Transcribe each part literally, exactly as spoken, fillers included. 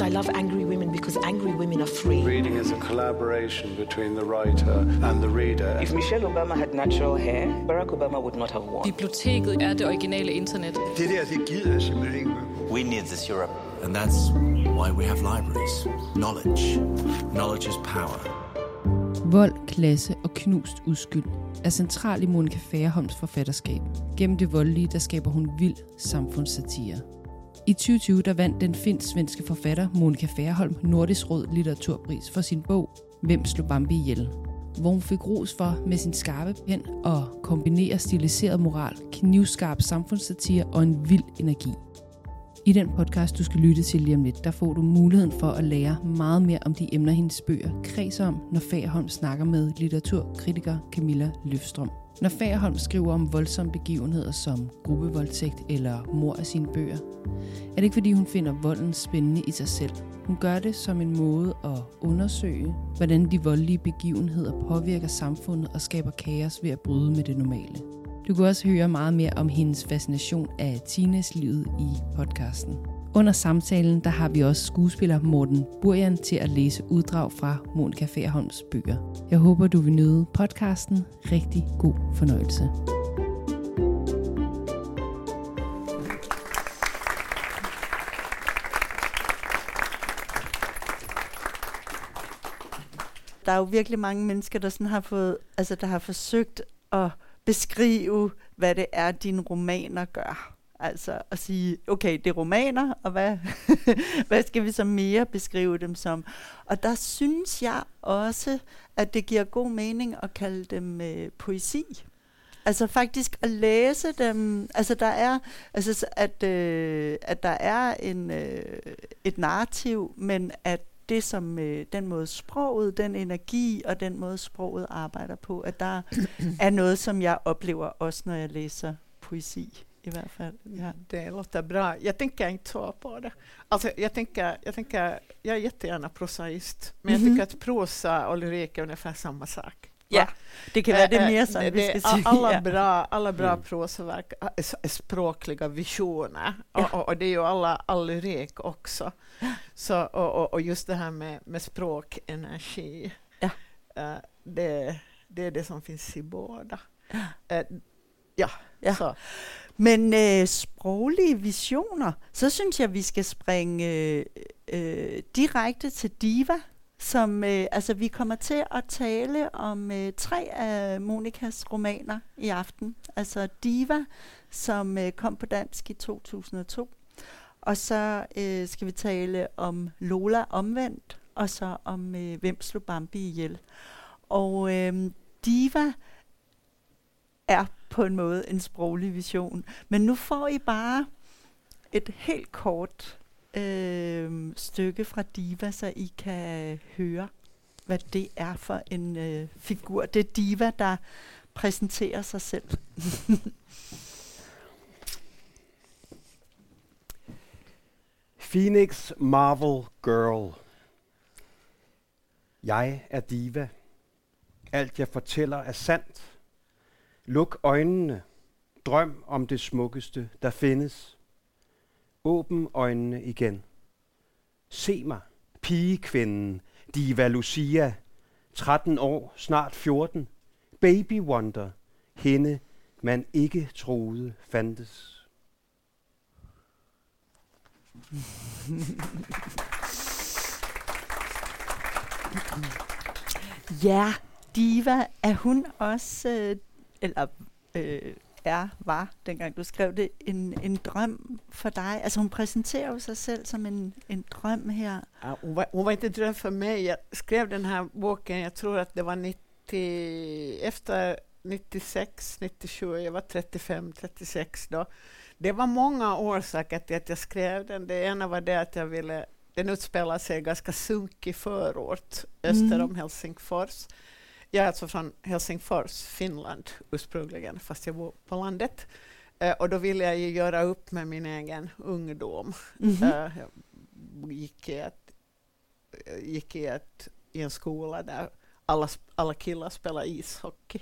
I love angry women because angry women are free. Reading is a collaboration between the writer and the reader. If Michelle Obama had natural hair, Barack Obama would not have won. Biblioteket er det originale internet. Det der, det gider jeg simpelthen ikke. We need this Europe. And that's why we have libraries. Knowledge. Knowledge is power. Vold, klasse og knust uskyld er central i Monica Færholms forfatterskab. Gennem det voldelige, der skaber hun vild samfundssatire. I tyve tyve der vandt den finsk-svenske forfatter Monica Færholm Nordisk Råd Litteraturpris for sin bog Hvem slog Bambi ihjel, hvor hun fik ros for med sin skarpe pen at kombinere stiliseret moral, knivskarp samfundssatire og en vild energi. I den podcast, du skal lytte til lige om lidt, der får du muligheden for at lære meget mere om de emner, hendes bøger kredser om, når Færholm snakker med litteraturkritiker Camilla Løfstrøm. Når Færholm skriver om voldsomme begivenheder som gruppevoldtægt eller mord af sine bøger, er det ikke fordi hun finder volden spændende i sig selv. Hun gør det som en måde at undersøge, hvordan de voldelige begivenheder påvirker samfundet og skaber kaos ved at bryde med det normale. Du kan også høre meget mere om hendes fascination af teenagelivet i podcasten. Under samtalen der har vi også skuespiller Morten Burjan til at læse uddrag fra Monica Færholms bøger. Jeg håber, du vil nyde podcasten. Rigtig god fornøjelse. Der er jo virkelig mange mennesker, der sådan har fået, altså der har forsøgt at beskrive, hvad det er, dine romaner gør. Altså at sige, okay, det er romaner, og hvad, hvad skal vi så mere beskrive dem som? Og der synes jeg også, at det giver god mening at kalde dem øh, poesi. Altså faktisk at læse dem, altså der er, altså at, øh, at der er en, øh, et narrativ, men at det som øh, den måde sproget, den energi og den måde sproget arbejder på, at der er noget, som jeg oplever også, når jeg læser poesi. I hvert fall. Ja. Det låter bra. Jag tänker inte så på det. Alltså, jag, tänker, jag, tänker, jag är jättegärna prosaist, men mm-hmm. jag tycker att prosa och lyrik är ungefär samma sak. Ja, det kan vara det mer som vi ska säga. Alla bra, alla bra mm. prosaverk är, är språkliga visioner. Ja. Och, och, och det är ju alla, all lyrik också. Så, och, och, och just det här med, med språk, energi, ja. uh, det, det är det som finns i båda. Uh, ja, ja. Så. Men øh, sproglige visioner, så synes jeg, vi skal springe øh, øh, direkte til Diva, som øh, altså vi kommer til at tale om øh, tre af Monicas romaner i aften. Altså Diva, som øh, kom på dansk i to tusind og to, og så øh, skal vi tale om Lola omvendt, og så om øh, Hvem slog Bambi ihjel. Og øh, Diva er på en måde en sproglig vision. Men nu får I bare et helt kort øh, stykke fra Diva, så I kan høre, hvad det er for en øh, figur. Det er Diva, der præsenterer sig selv. Phoenix Marvel Girl. Jeg er Diva. Alt jeg fortæller er sandt. Luk øjnene. Drøm om det smukkeste, der findes. Åbn øjnene igen. Se mig, pigekvinden, Diva Lucia. tretten år, snart fjorten. Baby Wonder. Hende, man ikke troede fandtes. Ja, Diva, er hun også... Øh, eller øh, er, var, dengang du skrev det, en, en drøm for dig? Altså hun præsenterer jo sig selv som en, en drøm her. Ja, hon, var, hon var inte dröm för mig. Jag skrev den här boken, jag tror att det var nittio, efter nittiosex, nittiosju, jag var trettiofem, trettiosex då. Det var många orsaker till att jag skrev den. Det ena var det att jag ville, den utspelar sig ganska sunkig förort öster om mm. Helsingfors. Jag är alltså från Helsingfors, Finland ursprungligen, fast jag bor på landet. Uh, och då ville jag ju göra upp med min egen ungdom. Mm-hmm. Uh, jag gick i, ett, gick i, ett, i en skola där alla, alla killar spelar ishockey.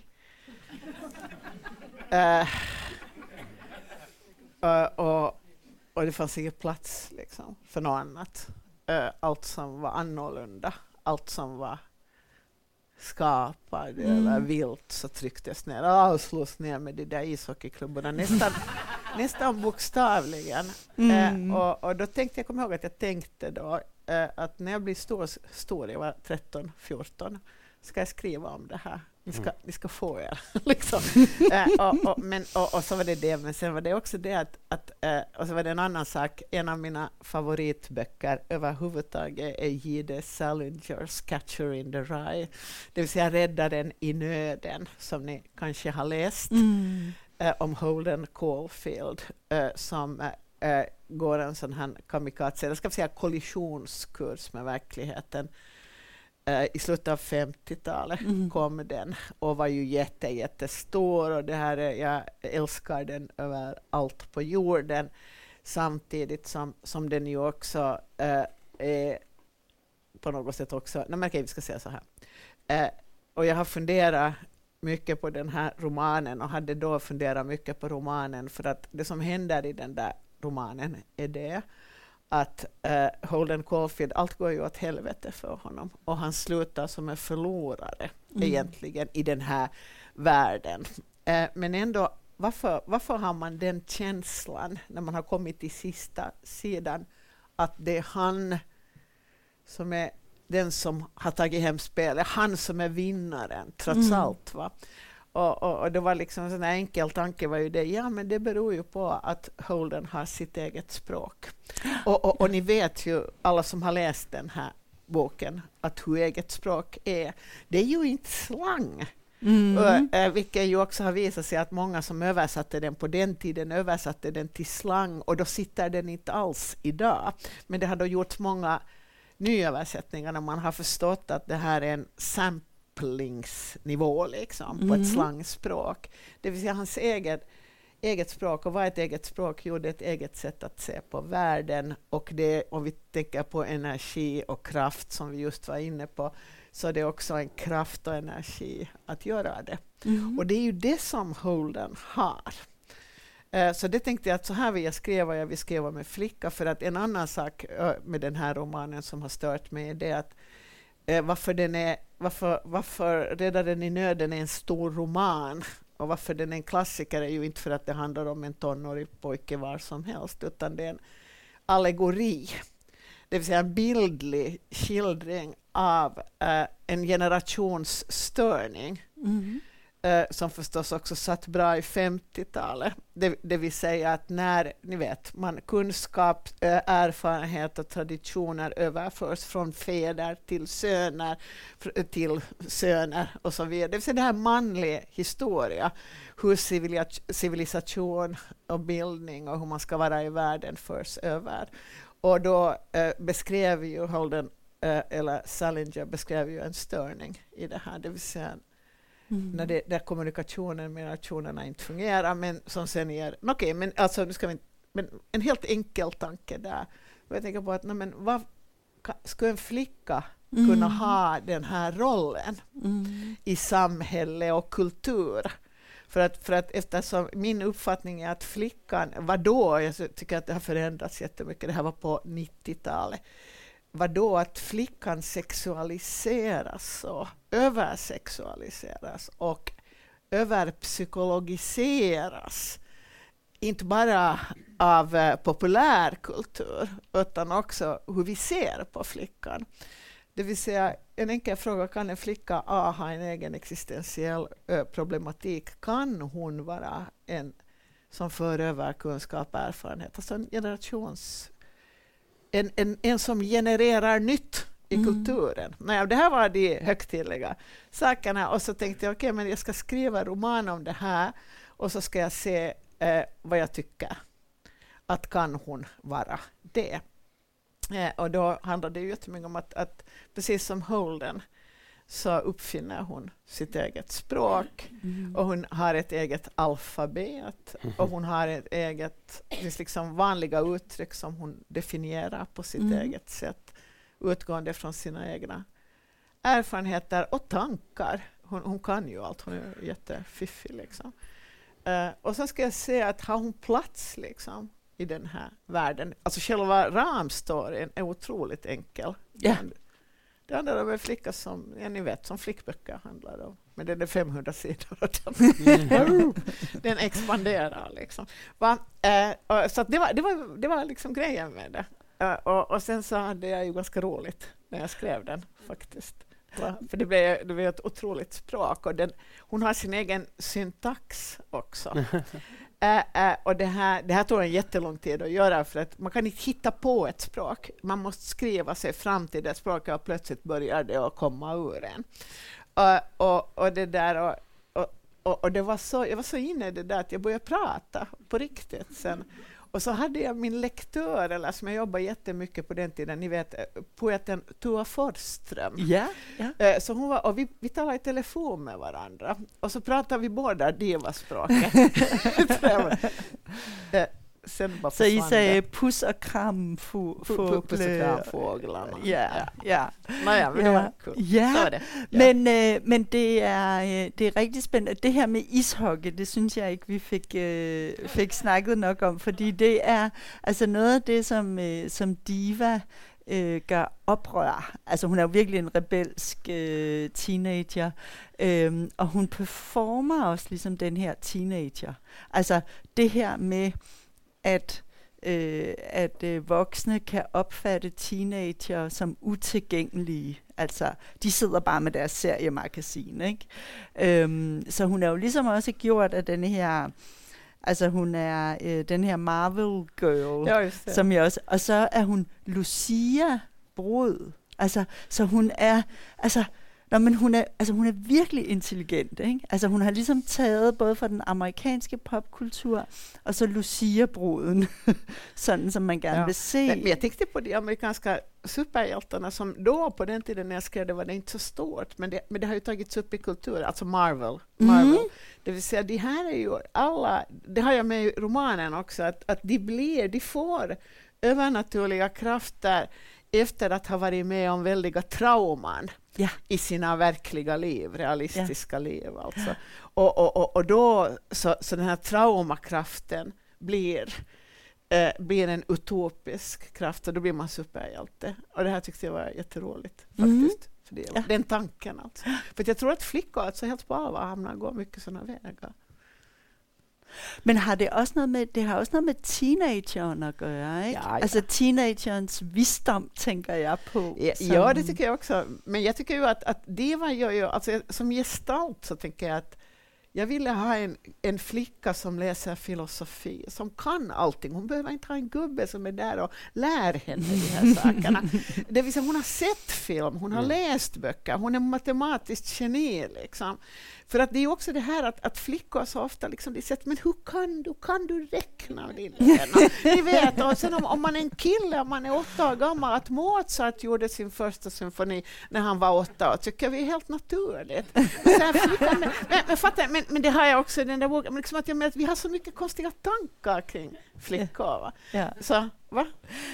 uh, uh, och, och det fanns ingen plats liksom, för något annat. uh, allt som var annorlunda, allt som var skapad mm. eller vilt så trycktes ner och slås ner med de där ishockeyklubborna nästan, nästan bokstavligen. Mm. Uh, och, och då tänkte jag, kommer ihåg att jag tänkte då uh, att när jag blir stor, stor jag var tretton fjorton, ska jag skriva om det här. Ni ska, mm. ni ska få er. liksom. uh, och, och, men, och, och så var det det, men sen var det också det att, att uh, och så var det en annan sak, en av mina favoritböcker överhuvudtaget är J D Salingers Catcher in the Rye, det vill säga Räddaren i nöden, som ni kanske har läst mm. uh, om Holden Caulfield uh, som uh, uh, går en sån här kamikaze, jag ska säga kollisionskurs med verkligheten. Uh, I slutet av femtiotalet mm. kom den och var ju jätte, jättestor, och det här är, jag älskar den över allt på jorden, samtidigt som, som den ju också uh, är på något sätt också, nej men okej, vi ska säga så här. Uh, och jag har funderat mycket på den här romanen och hade då funderat mycket på romanen, för att det som händer i den där romanen är det att uh, Holden Caulfield, allt går ju åt helvete för honom och han slutar som en förlorare mm. egentligen i den här världen. Uh, men ändå, varför, varför har man den känslan när man har kommit till sista sidan att det är han som är den som har tagit hem spelet, han som är vinnaren trots mm. allt, va? Och, och, och det var liksom en sån här enkel tanke var ju det, ja men det beror ju på att Holden har sitt eget språk. Och, och, och ni vet ju, alla som har läst den här boken, att hur eget språk är, det är ju inte slang. Mm. Och, äh, vilket ju också har visat sig att många som översatte den på den tiden översatte den till slang, och då sitter den inte alls idag. Men det har då gjort många nyöversättningar när man har förstått att det här är en sample nivå liksom, mm. på ett slangspråk. Det vill säga hans eget, eget språk. Och vad är ett eget språk? Jo, det är ett eget sätt att se på världen. Och det, om vi tänker på energi och kraft som vi just var inne på, så är det också en kraft och energi att göra det. Mm. Och det är ju det som Holden har. Uh, så det tänkte jag att så här vill jag skriva, jag vill skriva med flicka, för att en annan sak uh, med den här romanen som har stört mig är det att uh, varför den är Varför, varför Räddaren i nöden är en stor roman och varför den är en klassiker är ju inte för att det handlar om en tonårig pojke var som helst, utan det är en allegori. Det vill säga en bildlig skildring av uh, en generationsstörning mm. uh, som förstås också satt bra i femtiotalet. Det, det vill säga att när ni vet, man kunskap, uh, erfarenhet och traditioner överförs från fäder till söner, fr- till söner och så vidare. Det vill säga det här manliga historia, hur civila- civilisation och bildning och hur man ska vara i världen förs över. Och då uh, beskrev ju Holden, uh, eller Salinger beskrev ju en störning i det här, det vill säga mm. när, det, när kommunikationen med nationerna inte fungerar, men som sen ger, okej, okay, men alltså nu ska vi, men en helt enkel tanke där. Jag tänker på att, nej, men vad ska en flicka mm. kunna ha den här rollen mm. i samhälle och kultur? För att, för att eftersom min uppfattning är att flickan, vadå, jag tycker att det har förändrats jättemycket, det här var på nittiotalet, vadå att flickan sexualiseras och översexualiseras och överpsykologiseras, inte bara av eh, populärkultur utan också hur vi ser på flickan. Det vill säga, en enkel fråga, kan en flicka A ha en egen existentiell ö, problematik? Kan hon vara en som för över kunskap och erfarenhet? Alltså en generations... En, en, en som genererar nytt i mm. kulturen. Nej, det här var de högtidliga sakerna. Och så tänkte jag, okej, okay, men jag ska skriva roman om det här. Och så ska jag se eh, vad jag tycker. Att kan hon vara det? Eh, och då handlar det ju jättemycket om att, att precis som Holden så uppfinner hon sitt eget språk mm. och hon har ett eget alfabet mm. och hon har ett eget, liksom vanliga uttryck som hon definierar på sitt mm. eget sätt, utgående från sina egna erfarenheter och tankar. Hon, hon kan ju allt, hon är jättefiffig liksom. Uh, och så ska jag säga att har hon plats liksom i den här världen. Alltså själva ramstoryn är otroligt enkel. Ja. Det handlar om en flicka som, ja, ni vet, som flickböcker handlar om. Men den är femhundra sidor. Mm. Den expanderar liksom. Va? Eh, och, så att det var, det var, det var liksom grejen med det. Uh, och, och sen så hade jag ju ganska roligt när jag skrev den faktiskt. Va? För det blev, det blev ett otroligt språk. Och den, hon har sin egen syntax också. uh, uh, och det här, det här tog en jättelång tid att göra, för att man kan inte hitta på ett språk. Man måste skriva sig fram till det språket och plötsligt börjar det att komma ur en. Uh, och, och det där... Och, och, och, och det var så, jag var så inne i det där att jag började prata på riktigt sen. Och så hade jag min lektör, eller som jag jobbade jättemycket på den tiden, ni vet, poeten Tua Forsström. Ja, ja. Så hon var, och vi, vi talade i telefon med varandra. Och så pratade vi båda divaspråket. Sen bara så I säger puss och kram få, få, få, puss och kram fåglarna. Ja, ja. Naja, men det var cool. Ja, så var det. Ja. Men, äh, men det är, det är riktigt spännande. Det här med ishockey, det synes jag ikke, vi fik, øh, fik snakket nok om, fordi det er altså noget af det, som, øh, som Diva øh, gør oprør. Altså hun er jo virkelig en rebelsk øh, teenager, øh, og hun performer også ligesom den her teenager. Altså det her med at, øh, at øh, voksne kan opfatte teenager som utilgængelige. Altså, de sidder bare med deres seriemagasin, ikke? Øhm, så hun er jo ligesom også gjort af den her, altså hun er øh, den her Marvel girl, ja, som jeg også, og så er hun Lucia Brod. Altså, så hun er, altså, Nå, men hun er, altså hun er virkelig intelligent, ikke? Altså hun har ligesom taget både fra den amerikanske popkultur och så Lucia-bruden, sådan som man gerne ja. vill se. Men, men jag tänkte på de amerikanska superhjältarna som då på den tiden när jag skrev det var det inte så stort, men det, men det har ju tagits upp i kultur, alltså Marvel. Marvel. Mm. Det vill säga, de här är ju alla, det har jag med i romanen också, att, att de blir, de får övernaturliga krafter efter att ha varit med om väldiga trauman ja. i sina verkliga liv, realistiska ja. liv alltså. Och, och, och, och då så, så den här traumakraften blir, eh, blir en utopisk kraft och då blir man superhjälte. Och det här tyckte jag var jätteroligt faktiskt. Mm. För det, ja. Den tanken alltså. För jag tror att flickor alltså helt på allvar hamnar går mycket sådana vägar. Men har det också något med det har också något med teenagern att göra, inte? Ja, ja. Alltså teenagerns visdom tänker jag på. Ja, som... ja, det tycker jag också. Men jag tycker ju att, att det var ju, alltså som gestalt så tänker jag att jag ville ha en, en flicka som läser filosofi, som kan allting. Hon behöver inte ha en gubbe som är där och lär henne de här sakerna. Det vill säga, hon har sett film, hon har mm. läst böcker, hon är matematiskt geni liksom. För att det är också det här att, att flickor så ofta liksom, de säger, men hur kan du, kan du räkna din Ni vet, och sen om, om man är en kille, om man är åtta år gammal, att Mozart gjorde sin första symfoni när han var åtta år, tycker vi är helt naturligt. Men, så här, flickan, men, men, men, fattar, men, men det har jag också i den där boken, men liksom att jag menar att vi har så mycket konstiga tankar kring flickor. Va? Ja. Så, va?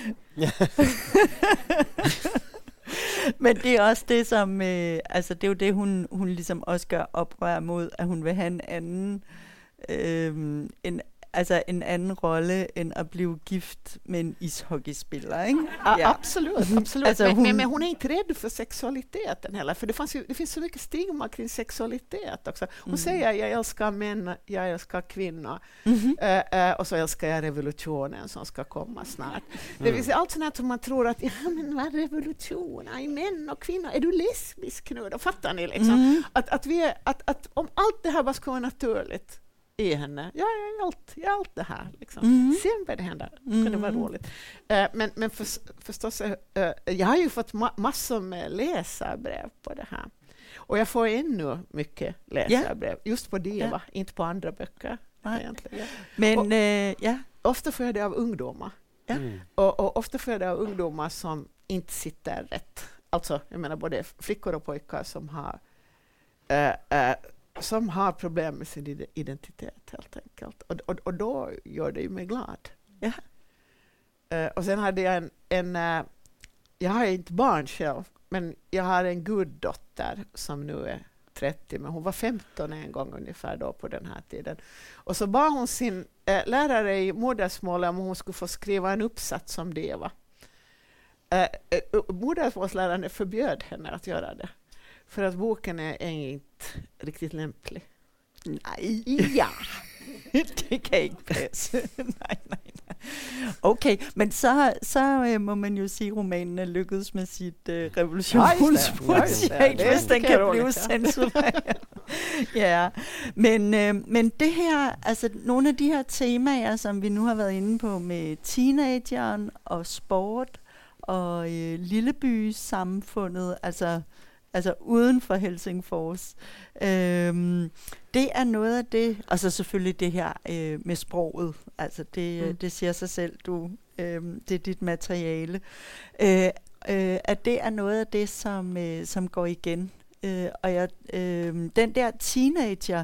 Men det är också det som øh, alltså det är ju det hon hon liksom också gør oprør mod, at hun vil have en anden øh, en alltså en annan roll än att bli gift med en ishockeyspelare, inte? Ja, ja. Absolut, absolut. Alltså men, hon... Men, men hon är inte rädd för sexualiteten heller, för det, fanns ju, det finns så mycket stigma kring sexualitet också. Hon mm. säger, jag älskar män, jag älskar kvinnor, mm-hmm. uh, uh, och så älskar jag revolutionen som ska komma snart. Mm. Det vill säga allt sånt här som man tror att, ja men vad är revolution? Är män och kvinnor? Är du lesbisk nu? Då fattar ni liksom. Mm. Att, att, vi är, att, att om allt det här bara ska vara naturligt i henne. Ja, jag är allt, jag är allt det här. Liksom. Mm. Sen började det hända. Det kunde mm. vara roligt. Uh, men men för, förstås, uh, jag har ju fått ma- massor med läsarbrev på det här. Och jag får ännu mycket läsarbrev. Yeah. Just på Diva, yeah. inte på andra böcker. Ah. Egentligen. Men, och, uh, yeah. ofta får jag det av ungdomar. Yeah. Mm. Och, och ofta får jag det av ungdomar som inte sitter rätt. Alltså, jag menar både flickor och pojkar som har uh, uh, som har problem med sin identitet helt enkelt. Och, och, och då gör det ju mig glad. Ja. Uh, och sen hade jag en, en uh, jag har inte barn själv, men jag har en guddotter som nu är trettio, men hon var femton en gång ungefär då på den här tiden. Och så bad hon sin äh, lärare i modersmålet om hon skulle få skriva en uppsats om diva. Äh, äh, modersmålsläraren förbjöd henne att göra det. För att boken är, är inte riktigt lämplig. Nej. Ja. Det kan ikke passe. nej, nej, nej. Okay, men så, så øh, må man jo sige, at romanen er lykkedes med sit øh, revolutionsprojekt, hvis den kan blive censureret. Ja, men, øh, men det her, altså nogle af de her temaer, som vi nu har været inde på med teenageren og sport og øh, lillebysamfundet, altså altså uden for Helsingfors. Øhm, det er noget af det, og så selvfølgelig det her øh, med sproget, altså det, mm. det siger sig selv, du, øh, det er dit materiale, øh, øh, at det er noget af det, som, øh, som går igen. Øh, og jeg, øh, den der teenager,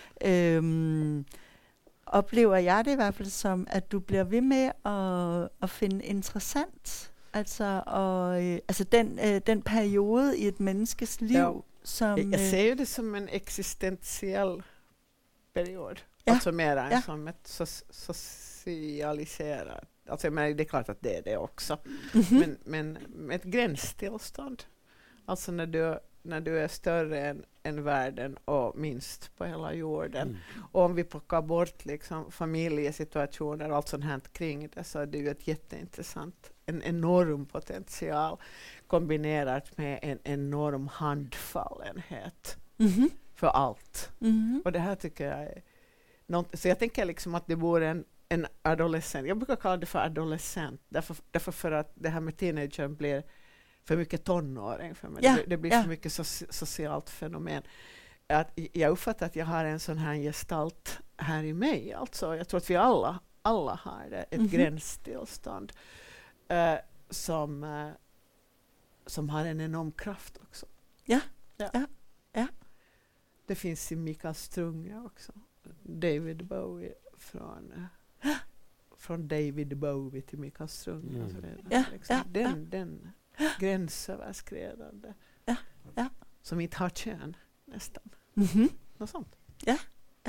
øh, oplever jeg det i hvert fald som, at du bliver ved med at, at finde interessant. Altså, og, øh, altså den, øh, den periode i et menneskes liv, ja. som... Jag, jag ser det som en existentiell period. Ja. Alltså mer än ja. som ett so- socialiserat... Alltså, men det är klart att det är det också. Mm-hmm. Men, men med ett gränstillstånd. Alltså när du, när du är större än, än världen och minst på hela jorden. Mm. Och om vi plockar bort liksom, familjesituationer och allt sånt här kring det, så är det ju ett jätteintressant, en enorm potential kombinerat med en enorm handfallenhet mm-hmm. för allt. Mm-hmm. Och det här tycker jag är något, så jag tänker liksom att det vore en, en adolescent. Jag brukar kalla det för adolescent. Därför, därför för att det här med teenagern blir för mycket tonåring för mig. Ja, det, det blir ja. för mycket so- socialt fenomen. Att jag uppfattar att jag har en sån här gestalt här i mig. Alltså, jag tror att vi alla, alla har det, ett mm-hmm. gränstillstånd uh, som, uh, som har en enorm kraft också. Ja, ja, ja. ja. Det finns i Mikael Strunge också. David Bowie från... Uh, från David Bowie till Mikael Strunge. Mm. Alltså det, ja, liksom, ja, den, ja. den gränsöverskridande. Ja, ja. Som inte har kön nästan. Mm-hmm. Något sånt. Ja, ja.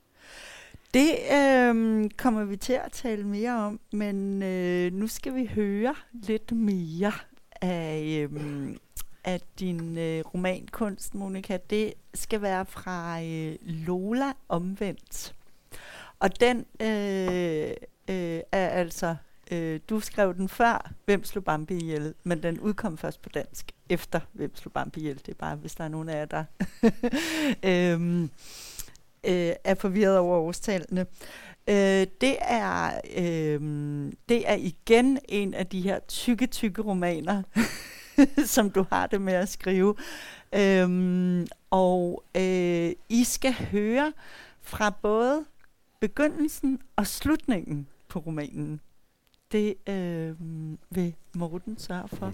Det øh, kommer vi til at tale mere om, men øh, nu skal vi høre lidt mere af, øh, af din øh, romankunst, Monica. Det skal være fra øh, Lola Omvendt. Og den øh, øh, er altså... Øh, du skrev den før Hvem slog Bambi ihjel, men den udkom først på dansk efter Hvem slog Bambi ihjel. Det er bare, hvis der er nogen af jer, der øhm, øh, er forvirret over årstallene. Øh, det, er, øh, det er igen en af de her tykke, tykke romaner, som du har det med at skrive. Øhm, og øh, I skal høre fra både begyndelsen og slutningen på romanen. Det øh, vil Morten sørge for.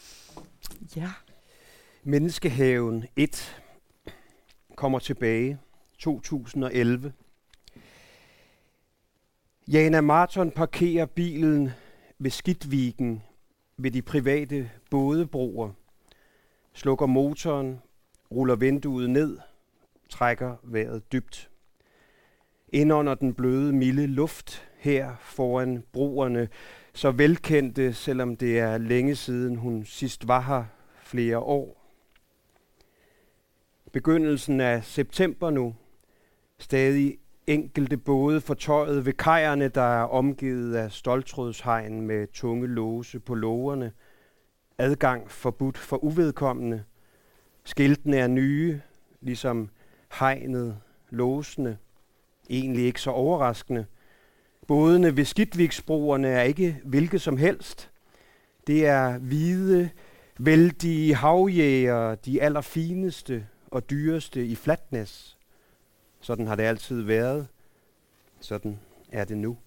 Ja. Menneskehaven et kommer tilbage to tusind og elleve. Jana Marton parkerer bilen ved Skidviken ved de private bådebroer, slukker motoren, ruller vinduet ned, trækker vejret dybt. Ind under den bløde, milde luft her foran broerne, så velkendte, selvom det er længe siden hun sidst var her, flere år. Begyndelsen af september nu. Stadig enkelte både fortøjet ved kajerne, der er omgivet af ståltrådshegn med tunge låse på lågerne. Adgang forbudt for uvedkommende. Skiltene er nye, ligesom hegnet, låsene. Egentlig ikke så overraskende. Bådene ved Skidviksbroerne er ikke hvilket som helst. Det er hvide, vældige havjæger, de allerfineste og dyreste i Flatnes. Sådan har det altid været. Sådan er det nu.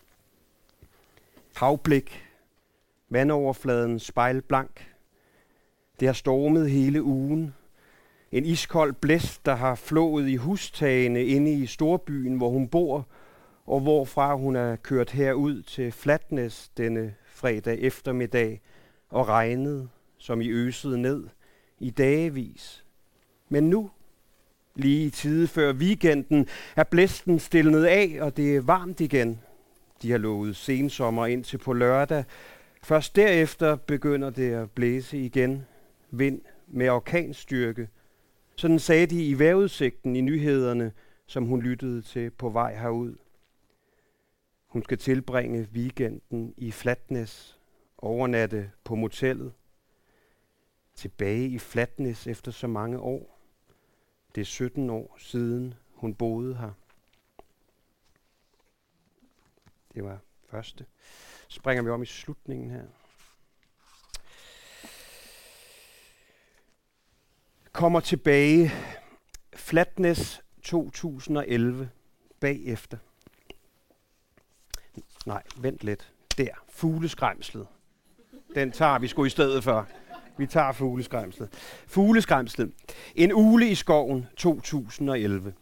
Havblik. Vandoverfladen spejlblank. Det har stormet hele ugen. En iskold blæst, der har flået i hustagene inde i storbyen, hvor hun bor, og hvorfra hun er kørt herud til Flatnes denne fredag eftermiddag og regnet, som i øsede ned, i dagevis. Men nu Lige i tide før weekenden er blæsten stilnet af, og det er varmt igen. De har lovet sensommer indtil på lørdag. Først derefter begynder det at blæse igen. Vind med orkanstyrke. Sådan sagde de i vejrudsigten i nyhederne, som hun lyttede til på vej herud. Hun skal tilbringe weekenden i Flatness, overnatte på motellet. Tilbage i Flatness efter så mange år. Det er sytten år siden, hun boede her. Det var første. Så springer vi om i slutningen her. Kommer tilbage. Flatness to tusind og elleve. Bagefter. Nej, vent lidt. Der. Fugleskræmslet. Den tager vi sgu i stedet for. Vi tager fugleskræmslet. Fugleskræmslet. En ugle i skoven to tusind og elleve.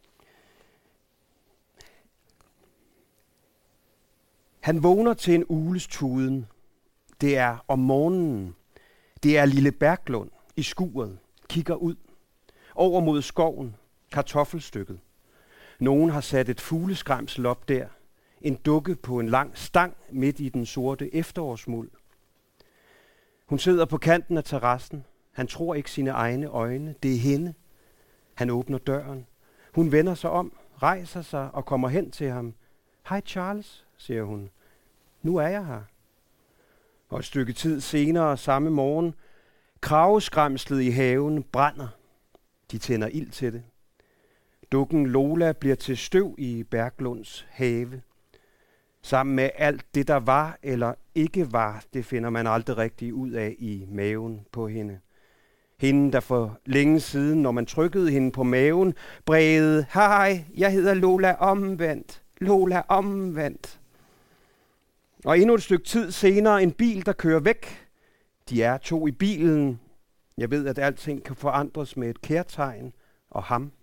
Han vågner til en ugles tuden. Det er om morgenen. Det er lille Berglund i skuret. Kigger ud. Over mod skoven. Kartoffelstykket. Nogen har sat et fugleskræmsel op der. En dukke på en lang stang midt i den sorte efterårsmuld. Hun sidder på kanten af terrassen. Han tror ikke sine egne øjne. Det er hende. Han åbner døren. Hun vender sig om, rejser sig og kommer hen til ham. Hej Charles, siger hun. Nu er jeg her. Og et stykke tid senere samme morgen, krageskræmslet i haven brænder. De tænder ild til det. Dukken Lola bliver til støv i Berglunds have. Sammen med alt det, der var eller ikke var, det finder man aldrig rigtig ud af i maven på hende. Hende, der for længe siden, når man trykkede hende på maven, brægede, hej, jeg hedder Lola omvendt, Lola omvendt. Og endnu et stykke tid senere en bil, der kører væk. De er to i bilen. Jeg ved, at alting kan forandres med et kærtegn og ham.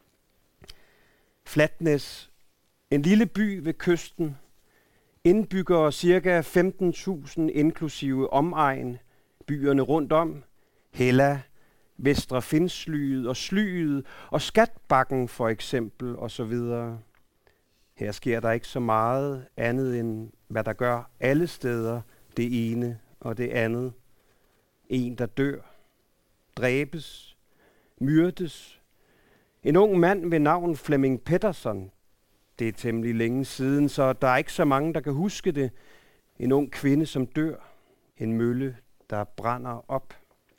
Flatness, en lille by ved kysten. Indbyggere cirka femten tusind inklusive omegn. Byerne rundt om. Hella, Vestre Findslyet og Slyet og Skatbakken for eksempel og så videre. Her sker der ikke så meget andet end hvad der gør alle steder det ene og det andet. En der dør, dræbes, myrdes. En ung mand ved navn Flemming Pettersson. Det er temmelig længe siden, så der er ikke så mange, der kan huske det. En ung kvinde, som dør. En mølle, der brænder op.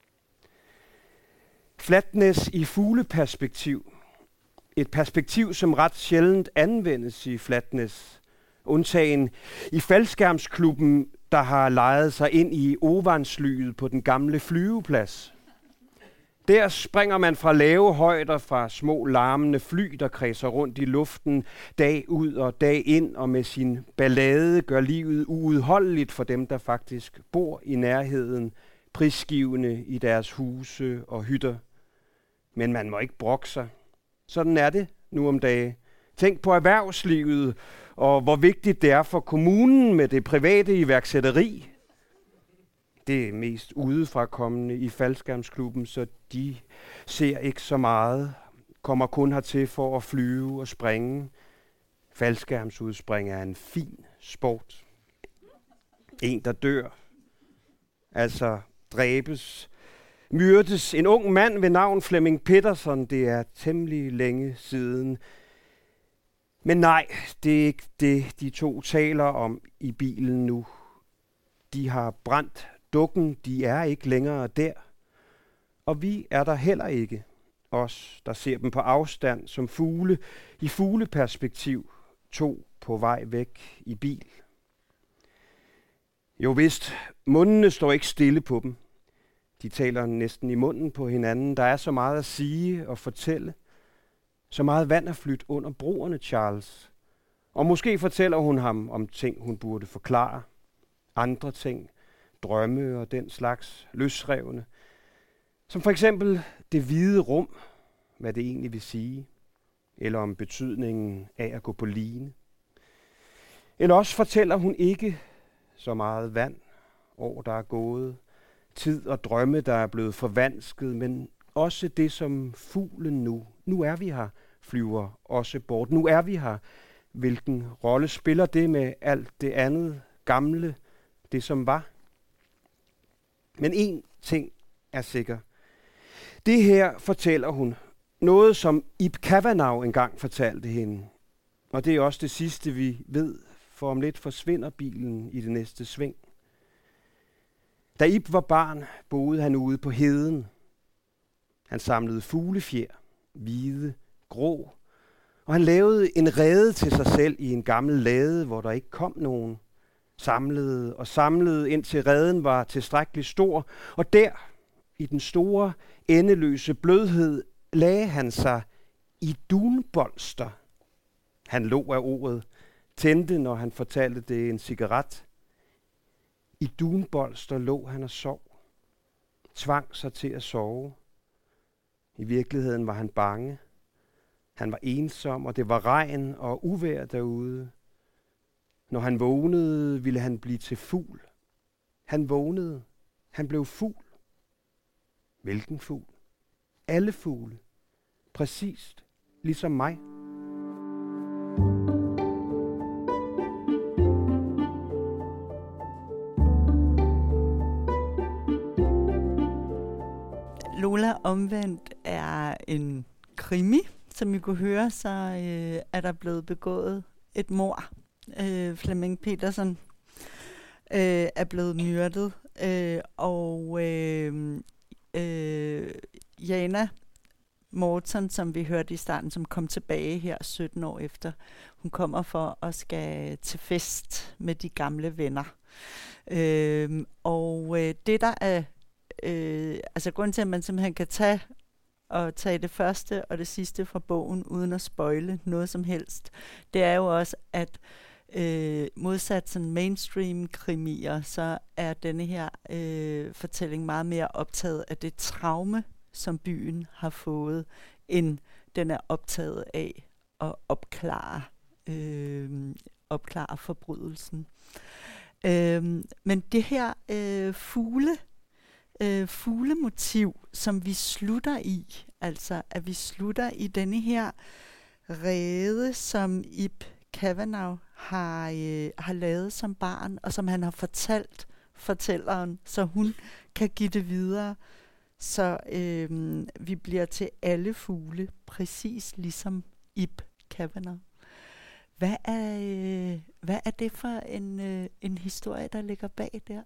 Flatness i fugleperspektiv. Et perspektiv, som ret sjældent anvendes i Flatness. Undtagen i faldskærmsklubben, der har lejet sig ind i Ovanslyet på den gamle flyveplads. Der springer man fra lave højder fra små larmende fly, der kredser rundt i luften dag ud og dag ind, og med sin ballade gør livet uudholdeligt for dem, der faktisk bor i nærheden, prisgivende i deres huse og hytter. Men man må ikke brokke sig. Sådan er det nu om dage. Tænk på erhvervslivet, og hvor vigtigt det er for kommunen med det private iværksætteri. Det er mest udefrakommende i faldskærmsklubben, så de ser ikke så meget. Kommer kun hertil for at flyve og springe. Faldskærmsudspring er en fin sport. En, der dør. Altså dræbes. Myrdes en ung mand ved navn Flemming Pettersson. Det er temmelig længe siden. Men nej, det er ikke det, de to taler om i bilen nu. De har brændt dukken, de er ikke længere der. Og vi er der heller ikke. Os, der ser dem på afstand som fugle, i fugleperspektiv, to på vej væk i bil. Jo vist, mundene står ikke stille på dem. De taler næsten i munden på hinanden. Der er så meget at sige og fortælle. Så meget vand er flydt under broerne, Charles. Og måske fortæller hun ham om ting, hun burde forklare. Andre ting, drømme og den slags løsrevne. Som for eksempel det hvide rum, hvad det egentlig vil sige. Eller om betydningen af at gå på line. Eller også fortæller hun ikke så meget vand, år der er gået, tid og drømme, der er blevet forvansket, men også det, som fuglen nu Nu er vi her, flyver også bort. Nu er vi her. Hvilken rolle spiller det med alt det andet gamle, det som var? Men én ting er sikker. Det her fortæller hun. Noget, som Ib Kavanagh engang fortalte hende. Og det er også det sidste, vi ved, for om lidt forsvinder bilen i det næste sving. Da Ib var barn, boede han ude på heden. Han samlede fuglefjer, hvide, grå, og han lavede en rede til sig selv i en gammel lade, hvor der ikke kom nogen. Samlede og samlede, indtil reden var tilstrækkeligt stor, og der, i den store, endeløse blødhed, lagde han sig i dunbolster. Han lå af ordet, tændte, når han fortalte det, en cigaret. I dunbolster lå han og sov, tvang sig til at sove. I virkeligheden var han bange. Han var ensom, og det var regn og uvejr derude. Når han vågnede, ville han blive til fugl. Han vågnede. Han blev fugl. Hvilken fugl? Alle fugle. Præcist ligesom mig. Lola omvendt er en krimi. Som I kunne høre, så øh, er der blevet begået et mord. Øh, Flemming Petersen øh, er blevet myrdet, øh, og øh, øh, Jana Morton, som vi hørte i starten, som kom tilbage her sytten år efter, hun kommer for at skal til fest med de gamle venner. Øh, og øh, det der er, øh, altså grunden til, at man simpelthen kan tage og tage det første og det sidste fra bogen, uden at spoile noget som helst, det er jo også, at øh, modsat sådan mainstream-krimier, så er denne her øh, fortælling meget mere optaget af det traume, som byen har fået, end den er optaget af at opklare, øh, opklare forbrydelsen. Øh, men det her øh, fugle, øh, fuglemotiv, som vi slutter i, altså at vi slutter i denne her rede, som Ib Kavanagh har, øh, har lavet som barn, og som han har fortalt fortælleren, så hun kan give det videre. Så øh, vi bliver til alle fugle, præcis ligesom Ib Kavanagh. Hvad er, øh, hvad er det for en, øh, en historie, der ligger bag der?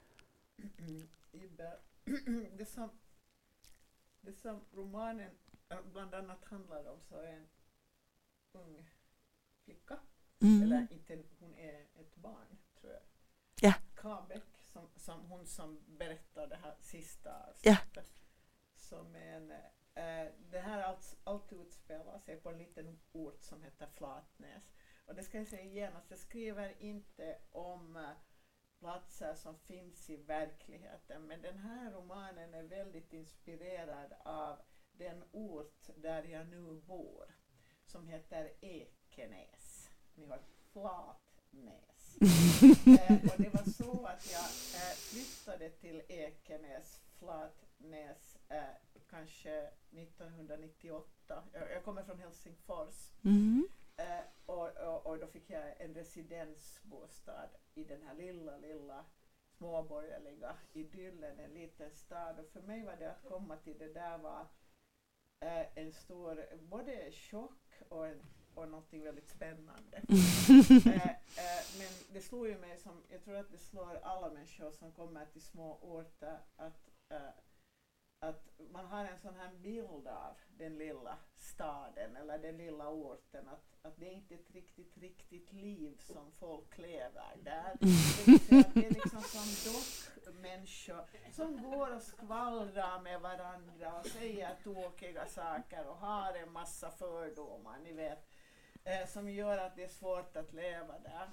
Det som, det som romanen bland annat handlar om, så är en ung flicka, mm. eller inte, hon är ett barn, tror jag. Ja. Kabek, som, som hon som berättar det här sista ja. Som en, äh, det här allt, allt utspelar sig på en liten ort som heter Flatnäs. Och det ska jag säga igen, att jag skriver inte om äh, platser som finns i verkligheten, men den här romanen är väldigt inspirerad av den ort där jag nu bor, som heter Ekenäs. Ni har Flatnäs. eh, och det var så att jag eh, flyttade till Ekenäs, Flatnäs, eh, kanske nittonhundranittioåtta. Jag, jag kommer från Helsingfors. Mm. Eh, och, och, och då fick jag en residensbostad i den här lilla, lilla småborgerliga idyllen, en liten stad. Och för mig var det att komma till det där var eh, en stor, både chock och, en, och någonting väldigt spännande. eh, eh, men det slår ju mig som, jag tror att det slår alla människor som kommer till små orter, att eh, att man har en sån här bild av den lilla staden eller den lilla orten, att, att det är inte ett riktigt, riktigt liv som folk lever där. Det, det är liksom som dockmänniskor som går och skvallrar med varandra och säger tråkiga saker och har en massa fördomar, ni vet, eh, som gör att det är svårt att leva där.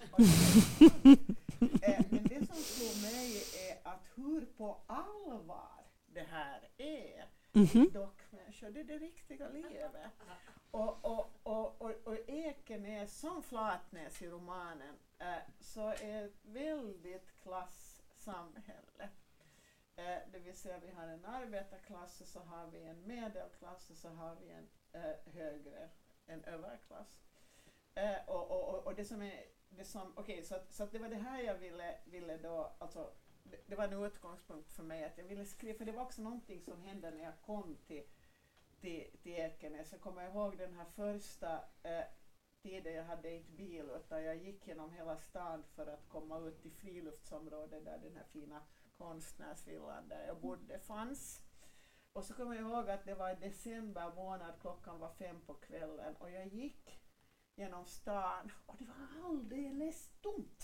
eh, men det som slår mig är att hur på allvar det här är mm-hmm. dockmänniskor, det är det riktiga livet. Och, och, och, och, och Ekenäs som Flatnäs i romanen eh, så är ett väldigt klassamhälle. Eh, det vill säga vi har en arbetarklass och så har vi en medelklass och så har vi en äh, högre än överklass. Äh, och, och, och, och det som är det som, okej, okay, så, att, så att det var det här jag ville, ville då, alltså det, det var en utgångspunkt för mig att jag ville skriva, för det var också någonting som hände när jag kom till, till, till Ekenäs. Jag kommer ihåg den här första äh, tiden jag hade inte bil, utan jag gick genom hela stan för att komma ut till friluftsområdet där den här fina konstnärsvillan där jag bodde fanns. Och så kommer jag ihåg att det var december månad, klockan var fem på kvällen och jag gick genom stan och det var alldeles tomt.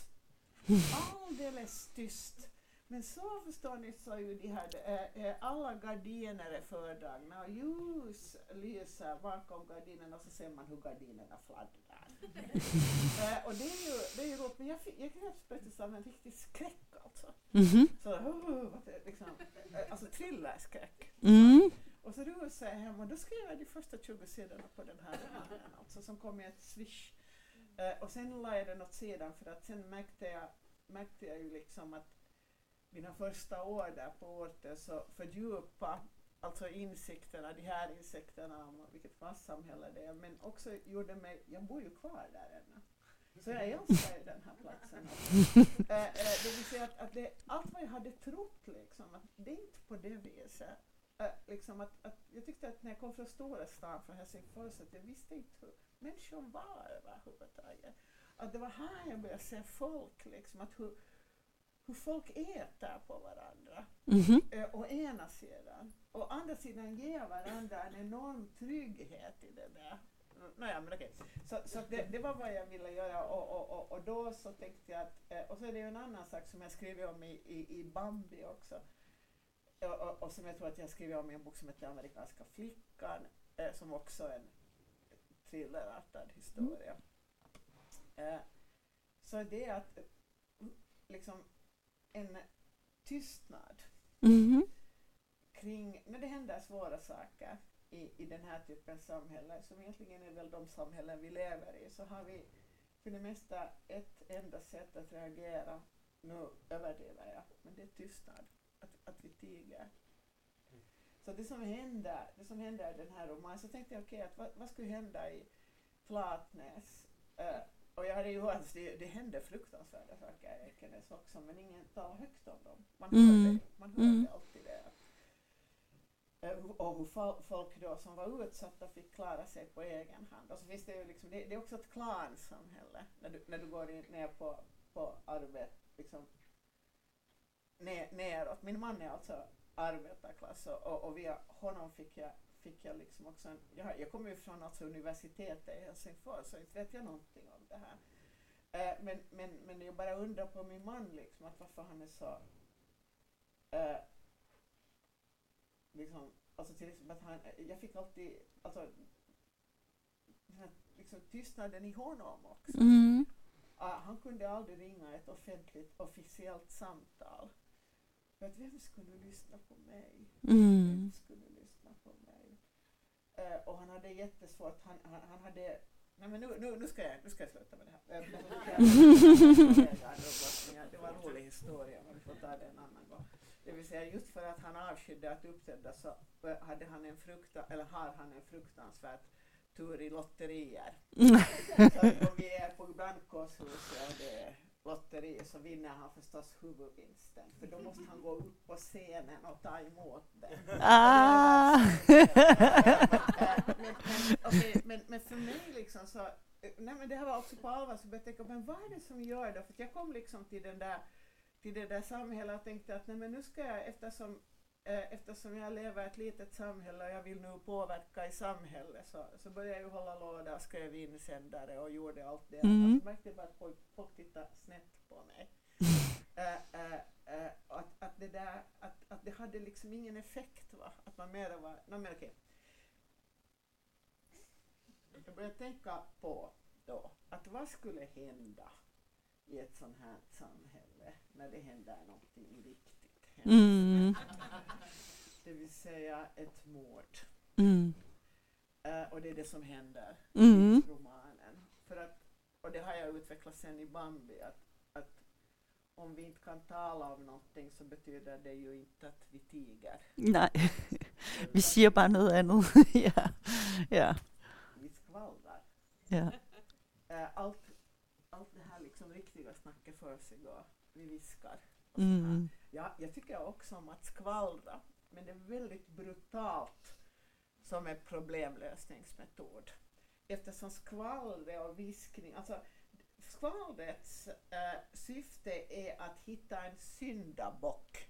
Alldeles tyst. Men så förstår ni så ju de här, äh, alla gardiner är fördragna och ljus lyser bakom gardinerna och så ser man hur gardinerna fladdrar. äh, och det är ju, det är ju roligt, men jag, jag greps plötsligt av en riktig skräck alltså. Mm-hmm. Så, uh, liksom, äh, alltså thrillerskräck. Mm. Och så rusade jag hem och då skrev jag de första tjugo sidorna på den här romanen, alltså, som kom i ett swish. Uh, och sen la jag den åt sidan för att sen märkte jag, märkte jag ju liksom att mina första år där på orten så fördjupa alltså insikterna, de här insikterna om vilket klassamhälle det är, men också gjorde mig, jag bor ju kvar där ännu. Så jag älskar ju den här platsen. äh, äh, det vill säga att, att det, allt vad jag hade trott liksom, att det är inte på det viset. Äh, liksom att, att jag tyckte att när jag kom från stora stan från Helsingfors att jag visste inte hur människor var överhuvudtaget. Att det var här jag började se folk liksom, att hur hur folk äter på varandra, mm-hmm. eh, å ena sidan. Och andra sidan ger varandra en enorm trygghet i det där. Nåja, men okej. Så, så det, det var vad jag ville göra och, och, och, och då så tänkte jag att, eh, och så är det ju en annan sak som jag skriver om i, i, i Bambi också. Och, och, och som jag tror att jag skriver om i en bok som heter Amerikanska flickan, eh, som också är en thrillerartad historia. Eh, så det är att liksom en tystnad mm-hmm. kring när det händer svåra saker i, i den här typen av samhälle som egentligen är väl de samhällen vi lever i, så har vi för det mesta ett enda sätt att reagera. Nu överdriver jag, men det är tystnad, att, att vi tiger. Mm. Så det som händer, det som händer i den här romanen, så tänkte jag okej, okay, att vad, vad skulle hända i Flatnäs? Uh, Och jag hade ju hört att det, det hände fruktansvärda saker i Ekenäs också, men ingen talar högt om dem. Man hörde, mm. man hörde mm. alltid det. Och hur folk då som var utsatta fick klara sig på egen hand. Och så finns det ju liksom, det, det är också ett klansamhälle när du, när du går in, ner på, på arbete, liksom ner, neråt. Min man är alltså arbetarklass och, och via honom fick jag fick jag liksom också en, jag, jag kommer ju från alltså universitetet i Helsingfors, så inte vet jag någonting om det här. Uh, men, men, men jag bara undrar på min man liksom, att varför han är så uh, liksom, alltså till exempel att han, jag fick alltid, alltså den här, liksom tystnaden i honom också. Mm. Uh, han kunde aldrig ringa ett offentligt, officiellt samtal. För att vem skulle lyssna på mig? Mm. Vem skulle lyssna på mig? Uh, och han hade jättesvårt, han, han, han hade, nej men nu, nu, nu, ska jag, nu ska jag sluta med det här. Uh, det var en rolig historia, men vi får ta det en annan gång. Det vill säga just för att han avskydde att uppträda så hade han en frukta, eller har han en fruktansvärt tur i lotterier. Så om vi är på brandkårshuset och det är lotteri så vinner han förstås huvudvinsten. För då måste han gå upp på scenen och ta emot den. Ah. men, men, okay, men, men för mig liksom så, nej men det här var också på allvar, så började jag tänka, men vad är det som gör det? För jag kom liksom till den där till det där samhället och tänkte att nej men nu ska jag, eftersom, eh, eftersom jag lever ett litet samhälle och jag vill nu påverka i samhället, så, så började jag ju hålla låda och skrev insändare och gjorde allt det. Mm. Och så märkte jag bara att folk, folk tittade snett på mig. äh, äh, äh, att, att, det där, att, att det hade liksom ingen effekt, va? Att man mer var, nej men okej. Jag började tänka på då, att vad skulle hända i ett sånt här samhälle när det händer någonting riktigt hemskt. Mm. Det vill säga ett mord. Mm. Uh, och det är det som händer mm. i romanen. För att, och det har jag utvecklat sen i Bambi, att, att om vi inte kan tala om någonting så betyder det ju inte att vi tiger. Nej, vi säger bara något annat. Ja. Ja. Vi skvallrar. Ja. Uh, allt, allt det här liksom riktiga snacket för sig och vi viskar. Och Mm. ja, jag tycker också om att skvallra, men det är väldigt brutalt som en problemlösningsmetod. Eftersom skvallre och viskning, alltså skvallrets uh, syfte är att hitta en syndabock.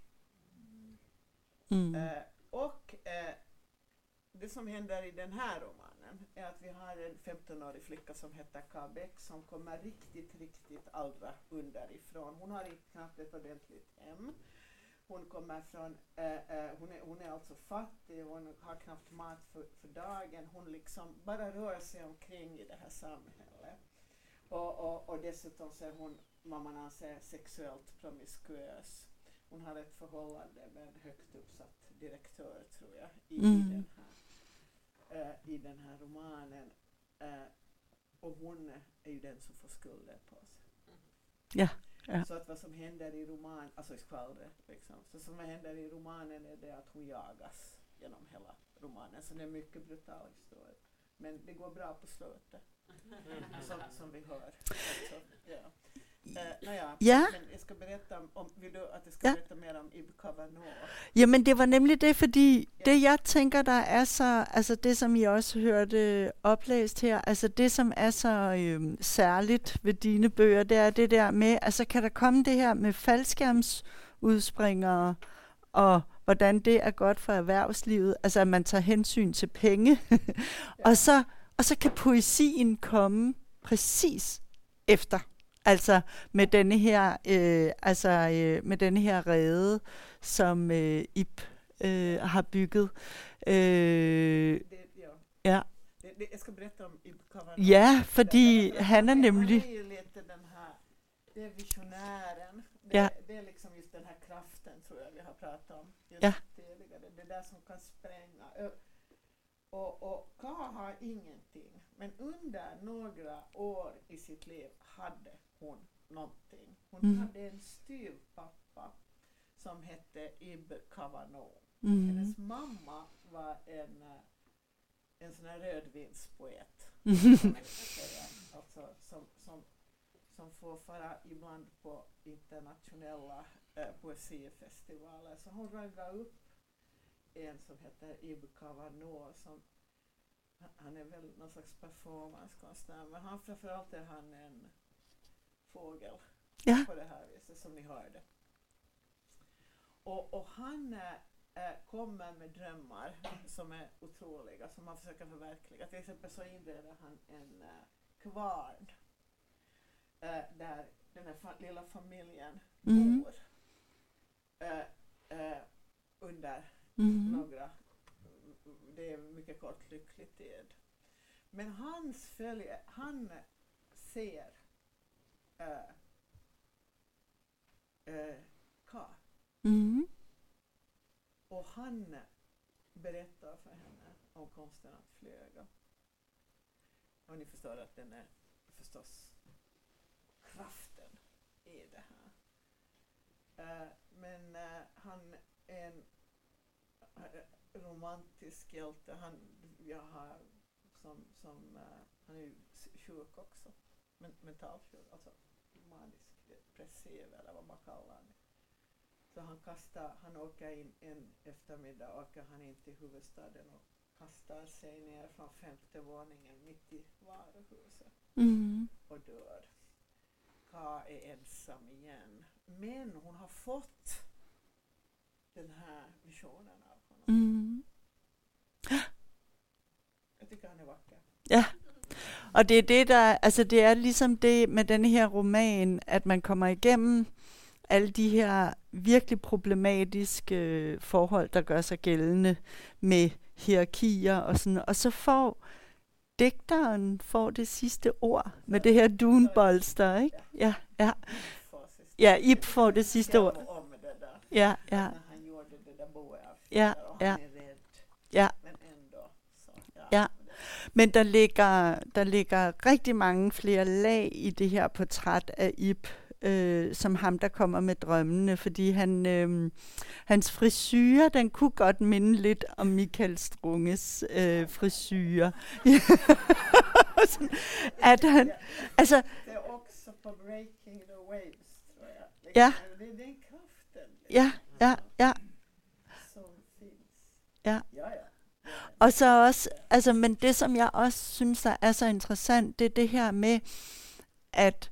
Mm. Uh, och uh, det som händer i den här romanen är att vi har en femtonårig flicka som heter Kabek som kommer riktigt, riktigt allra underifrån. Hon har inte knappt ett ordentligt hem. Hon kommer från, äh, äh, hon, är, hon är alltså fattig, hon har knappt mat för, för dagen. Hon liksom bara rör sig omkring i det här samhället. Och, och, och dessutom så är hon, vad man anser, sexuellt promiskuös. Hon har ett förhållande med en högt uppsatt direktör, tror jag, i, Mm. i, den, här, uh, i den här romanen. Uh, och hon är ju den som får skulden på sig. Ja. Ja. Så att vad som händer i romanen, alltså i skvallret, liksom. Så som händer i romanen är det att hon jagas genom hela romanen. Så det är en mycket brutal historia. Men det går bra på slutet. som, som vi hör. Alltså, ja. Uh, naja, Ja. men jag ska berätta om, om vill du att jag ska Ja. berätta mer om Ib Kavanaugh? Ja, men det var nemlig det, fordi Ja. det jeg tænker, der er så, altså det som I også hørte oplæst her, altså det som er så øhm, særligt ved dine bøger, det er det der med, altså kan der komme det her med faldskærmsudspringere, og hvordan det er godt for erhvervslivet, altså at man tager hensyn til penge, og, så, og så kan poesien komme præcis efter. Altså med denne her, øh, altså øh, med denne her rede, som øh, Ib øh, har bygget. Øh, Det, ja. ja, Det, det, jag ska berätta om Ib Kavanaugh. ja, fordi Därför att han er Han nemlig, är ju lite den här, det är visionären. Det, Ja. det är liksom just den här kraften, tror jag vi har pratat om just Ja. tidigare. Det där som kan spränga. Ö- Och, och Ka har ingenting. Men under några år i sitt liv hade hon någonting. Hon Mm. hade en styvpappa som hette Ib Kavanaugh. mm, Hennes mamma var en, eh, en sån här rödvinspoet. mm, kan man säga. Alltså, som, som, som får fara ibland på internationella eh, poesifestivaler. Så hon raggade upp en som heter Ib Kavanaugh. Som, han- han är väl någon slags performancekonstnär, men han, framförallt är han en fågel ja, på det här viset som ni hörde. Och, och han äh, kommer med drömmar som är otroliga, som han försöker förverkliga. Till exempel så inreder han en äh, kvarn äh, där den här fa- lilla familjen Mm. bor äh, äh, under mm, några, det är mycket kort lycklig tid. Men hans följe, han ser äh, äh, Ka. mm, Och han berättar för henne om konsten att flyga. Och ni förstår att den är förstås kraften i det här. Uh, men uh, han är en uh, romantisk hjälte. Han, jag har, som, som, uh, han är ju sjuk också. Men, mentalsjuk, alltså manisk depressiv eller vad man kallar det. Så han kastar, han åker in en eftermiddag, åker han in till huvudstaden och kastar sig ner från femte våningen mitt i varuhuset mm, och dör. Ka är ensam igen. Men hon har fått den här visionen av honom. mm. Jag tycker han är vacker. Ja, og det er det, der, altså det er ligesom det med den her roman, at man kommer igennem alle de her virkelig problematiske øh, forhold, der gør sig gældende med hierarkier og sådan, og så får digteren får det sidste ord med det her dunbolster, ikke? Ja, ja. Ja, Ib får det sidste ord. Om det där. Ja, ja, När han gjorde det där boet Ja, och ja. han är rädd. ja. Men ändå så. Ja. Ja. Men der ligger, der ligger rigtig mange flere lag i det her portræt af Ib, øh, som ham, der kommer med drømmene, fordi han, øh, hans frisyre, den kunne godt minde lidt om Michael Strunges øh, frisyre. At han, altså, det er også på Breaking the Waves, tror jeg. Ja. Det er den kraften. Ja, ja, ja. Som findes. Ja. Ja, ja. Og så også, altså, men det som jeg også synes, der er så interessant, det er det her med, at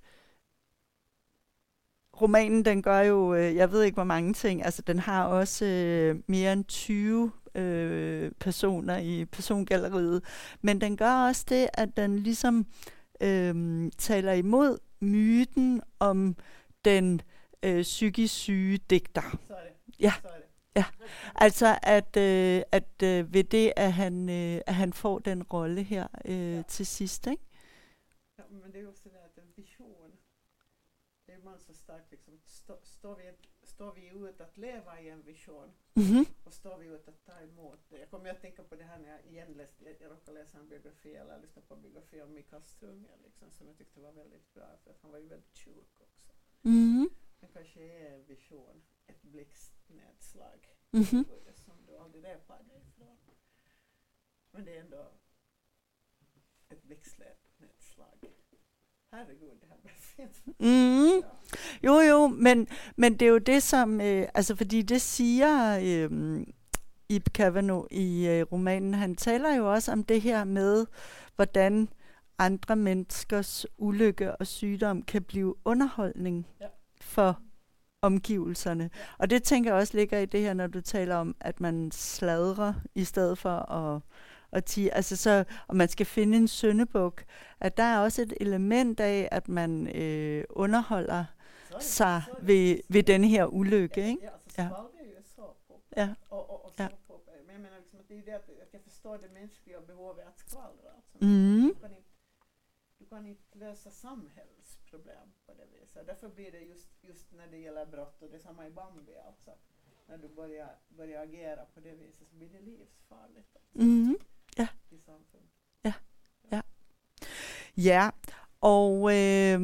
romanen, den gør jo, øh, jeg ved ikke hvor mange ting, altså den har også øh, mere end tyve øh, personer i persongalleriet, men den gør også det, at den ligesom øh, taler imod myten om den øh, psykisk syge digter. Så er det. Ja. Så er det. Ja, altså at, øh, at øh, ved det, at han, øh, at han får den rolle her øh, ja. til sidst, ikke? Ja, men det er jo også det der, den vision. Det er meget så stærkt, liksom. Stå, står, vi, står vi ut att leva i en vision? Mm-hmm. Och står vi ut att ta emot det? Jag kommer att tänka på det här när jag igen läste, jag, jag råkade läsa en biografi, eller lyssna på en biografi om Mikael Strunge, liksom, som jag tyckte var väldigt bra, för att han var ju väldigt sjuk också. Mm-hmm. Det kanske är en vision, ett blixtnedslag, mm-hmm. som du aldrig repar dig ifrån. Men det är ändå ett blixtnedslag. Herregud, det här blev fint. Mm. Jo, jo, men, men det er jo det, som... Øh, altså, fordi det siger øh, Ib Cavanaugh i øh, romanen. Han taler jo også om det her med, hvordan andre menneskers ulykke og sygdom kan blive underholdning ja. for omgivelserne. Ja. Og det tænker jeg også ligger i det her, når du taler om, at man sladrer i stedet for at... Og, ti, altså så, og man skal finde en syndebuk, at der er også et element af, at man øh, underholder så det, sig så ved, ved denne her ulykke, ja, ikke? Ja, altså ja. Så det jo så på. Ja. Og, og, og så ja. på. Men jeg mener liksom, at det er det, at jeg forstår det menneskelige behov af at skvaldre. Altså. Mm. Du, kan ikke, du kan ikke løse samhällsproblem på det viset. Derfor blir det just, just när det gäller brott, och det är samma i Bambi alltså. När du börjar, börjar agera på det viset så blir det livsfarligt. Alltså. Mm. Ja. Ja. Ja. Ja. Og øh,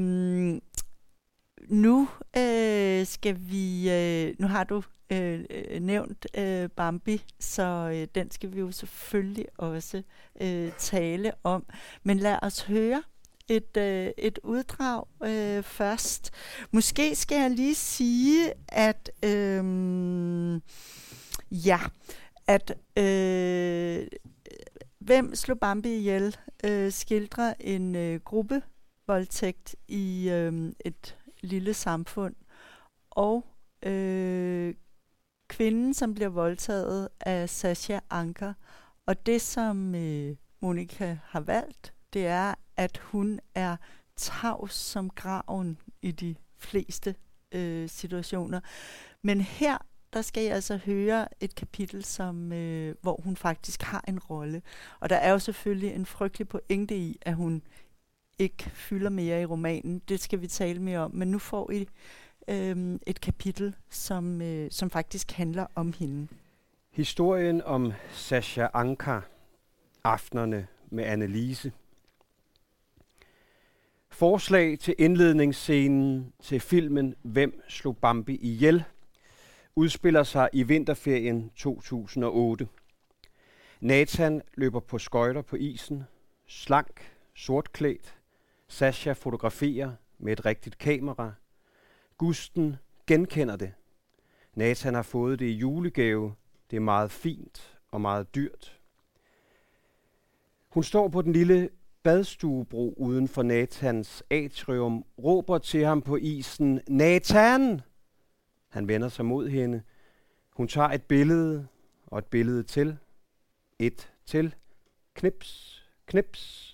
nu øh, skal vi øh, nu har du øh, nævnt øh, Bambi, så øh, den skal vi jo selvfølgelig også øh, tale om. Men lad os høre et øh, et uddrag øh, først. Måske skal jeg lige sige, at øh, ja, at øh, Hvem slog Bambi ihjel? Øh, skildrer en øh, gruppevoldtægt i øh, et lille samfund. Og øh, kvinden, som bliver voldtaget, er Sascha Anka. Og det, som øh, Monica har valgt, det er, at hun er tavs som graven i de fleste øh, situationer. Men her der skal jeg altså høre et kapitel, som, øh, hvor hun faktisk har en rolle. Og der er jo selvfølgelig en frygtelig pointe i, at hun ikke fylder mere i romanen. Det skal vi tale mere om. Men nu får I øh, et kapitel, som, øh, som faktisk handler om hende. Historien om Sascha Anka, Aftenerne med Annelise. Forslag til indledningsscenen til filmen Hvem slog Bambi ihjel? Udspiller sig i vinterferien to tusind og otte. Nathan løber på skøjter på isen, slank, sortklædt. Sascha fotograferer med et rigtigt kamera. Gusten genkender det. Nathan har fået det i julegave. Det er meget fint og meget dyrt. Hun står på den lille badstuebro uden for Nathans atrium, råber til ham på isen, Nathan! Han vender sig mod hende. Hun tager et billede og et billede til. Et til. Knips, knips.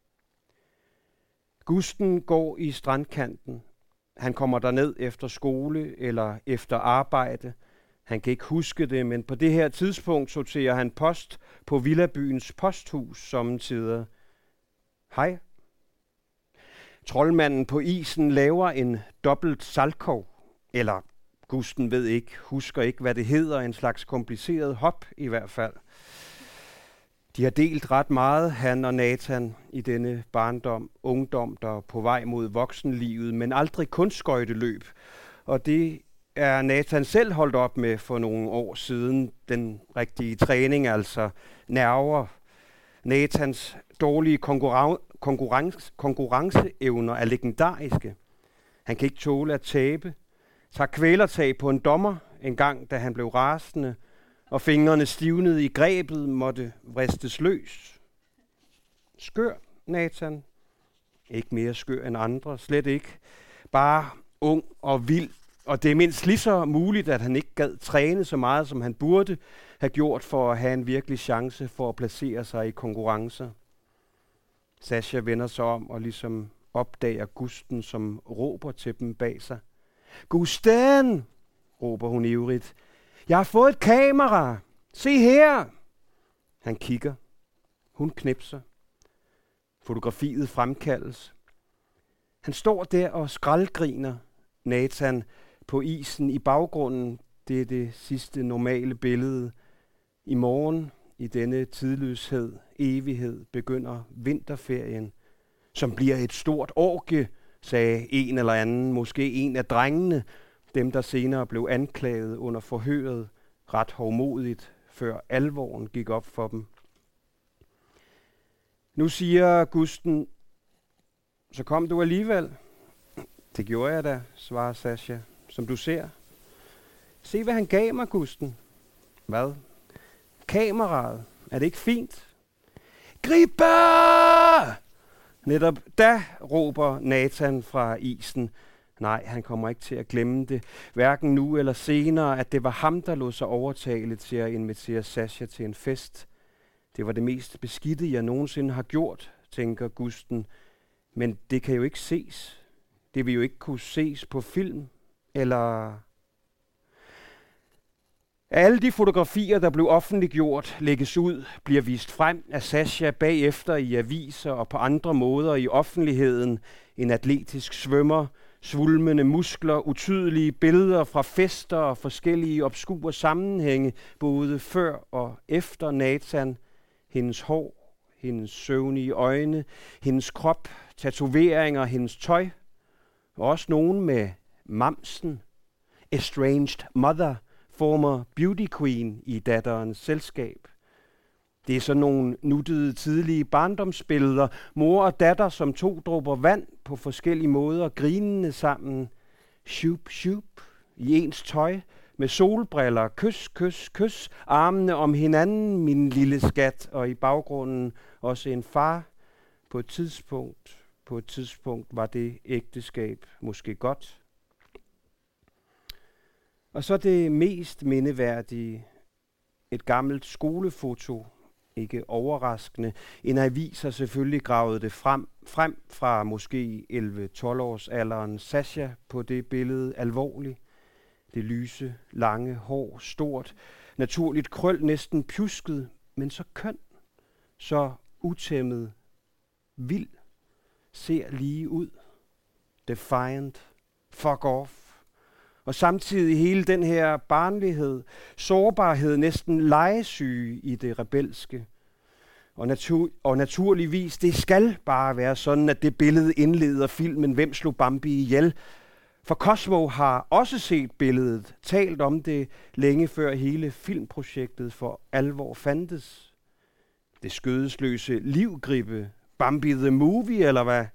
Gusten går i strandkanten. Han kommer derned efter skole eller efter arbejde. Han kan ikke huske det, men på det her tidspunkt sorterer han post på villabyens posthus sommetider. Hej. Troldmanden på isen laver en dobbelt saltkov, eller Gusten ved ikke, husker ikke, hvad det hedder, en slags kompliceret hop i hvert fald. De har delt ret meget, han og Nathan, i denne barndom, ungdom, der er på vej mod voksenlivet, men aldrig kunstskøjteløb. Og det er Nathan selv holdt op med for nogle år siden, den rigtige træning, altså nerver. Nathans dårlige konkurren- konkurrence, konkurrenceevner er legendariske. Han kan ikke tåle at tabe, tager kvælertag på en dommer en gang, da han blev rasende, og fingrene stivnede i grebet, måtte vristes løs. Skør, Nathan. Ikke mere skør end andre, slet ikke. Bare ung og vild, og det er mindst lige så muligt, at han ikke gad træne så meget, som han burde have gjort for at have en virkelig chance for at placere sig i konkurrencer. Sasha vender sig om og ligesom opdager Gusten, som råber til dem bag sig. Gusten, råber hun ivrigt. Jeg har fået et kamera. Se her. Han kigger. Hun knipser. Fotografiet fremkaldes. Han står der og skraldgriner. Nathan på isen i baggrunden. Det er det sidste normale billede. I morgen, i denne tidløshed, evighed, begynder vinterferien, som bliver et stort orgie, sagde en eller anden, måske en af drengene, dem der senere blev anklaget under forhøret, ret hovmodigt, før alvoren gik op for dem. Nu siger Gusten, så kom du alligevel. Det gjorde jeg da, svarer Sasha, som du ser. Se, hvad han gav mig, Gusten. Hvad? Kameraet. Er det ikke fint? Gribe! Netop da råber Nathan fra isen. Nej, han kommer ikke til at glemme det. Hverken nu eller senere, at det var ham, der lod sig overtale til at invitere Sasha til en fest. Det var det mest beskidte, jeg nogensinde har gjort, tænker Gusten. Men det kan jo ikke ses. Det vil jo ikke kunne ses på film. Eller... Alle de fotografier, der blev offentliggjort, lægges ud, bliver vist frem af Sasha bagefter i aviser og på andre måder i offentligheden. En atletisk svømmer, svulmende muskler, utydelige billeder fra fester og forskellige obskure sammenhænge, både før og efter Nathan. Hendes hår, hendes søvnige øjne, hendes krop, tatoveringer, hendes tøj. Og også nogen med mamsen, estranged mother, former beauty queen i datterens selskab. Det er sådan nogle nuttede tidlige barndomsbilleder, mor og datter som to dråber vand på forskellige måder, grinende sammen, shup shup, i ens tøj, med solbriller, kys, kys, kys, armene om hinanden, min lille skat, og i baggrunden også en far. På et tidspunkt, på et tidspunkt var det ægteskab måske godt. Og så det mest mindeværdige, et gammelt skolefoto, ikke overraskende. En avis har selvfølgelig gravet det frem, frem fra måske elleve-tolv års alderen. Sasha på det billede alvorligt. Det lyse, lange hår, stort, naturligt krøl, næsten pjusket, men så køn, så utæmmet, vild, ser lige ud. Defiant, fuck off. Og samtidig hele den her barnlighed, sårbarhed, næsten legesyge i det rebelske. Og, natur- og naturligvis, det skal bare være sådan, at det billede indleder filmen Hvem slog Bambi ihjel? For Cosmo har også set billedet, talt om det længe før hele filmprojektet for alvor fandtes. Det skødesløse livgribe, Bambi the Movie, eller hvad?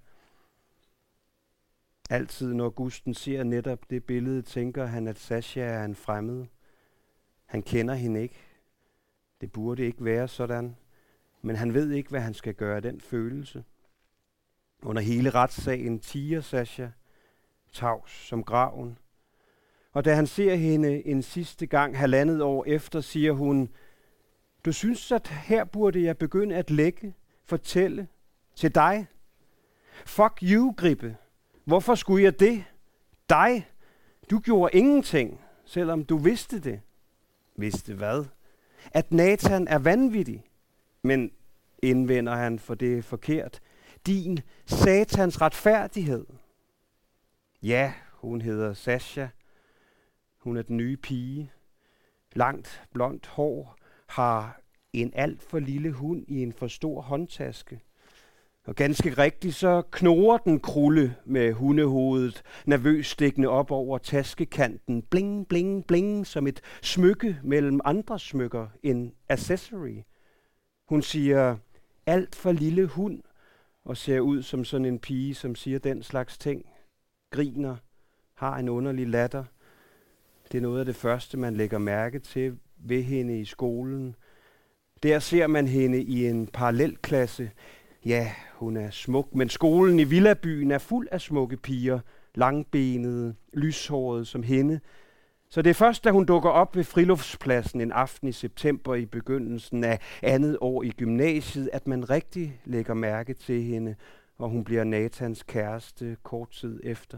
Altid når Gusten ser netop det billede, tænker han, at Sasha er en fremmed. Han kender hende ikke. Det burde ikke være sådan. Men han ved ikke, hvad han skal gøre af den følelse. Under hele retssagen tiger Sasha, tavs som graven. Og da han ser hende en sidste gang halvandet år efter, siger hun, du synes, at her burde jeg begynde at lægge, fortælle til dig. Fuck you, Gribe. Hvorfor skulle jeg det? Dig? Du gjorde ingenting, selvom du vidste det. Vidste hvad? At Nathan er vanvittig. Men indvender han, for det er forkert. Din satans retfærdighed. Ja, hun hedder Sasha. Hun er den nye pige. Langt, blondt hår, har En alt for lille hund i en for stor håndtaske. Og ganske rigtigt, så knurrer den Krulle med hundehovedet, nervøst stikkende op over taskekanten. Bling, bling, bling, som et smykke mellem andre smykker. En accessory. Hun siger, alt for lille hund, og ser ud som sådan en pige, som siger den slags ting. Griner, har en underlig latter. Det er noget af det første, man lægger mærke til ved hende i skolen. Der ser man hende i en parallelklasse. Ja, hun er smuk, men skolen i villabyen er fuld af smukke piger, langbenede, lyshårede som hende. Så det er først, da hun dukker op ved friluftspladsen en aften i september i begyndelsen af andet år i gymnasiet, at man rigtig lægger mærke til hende, og hun bliver Nathans kæreste kort tid efter.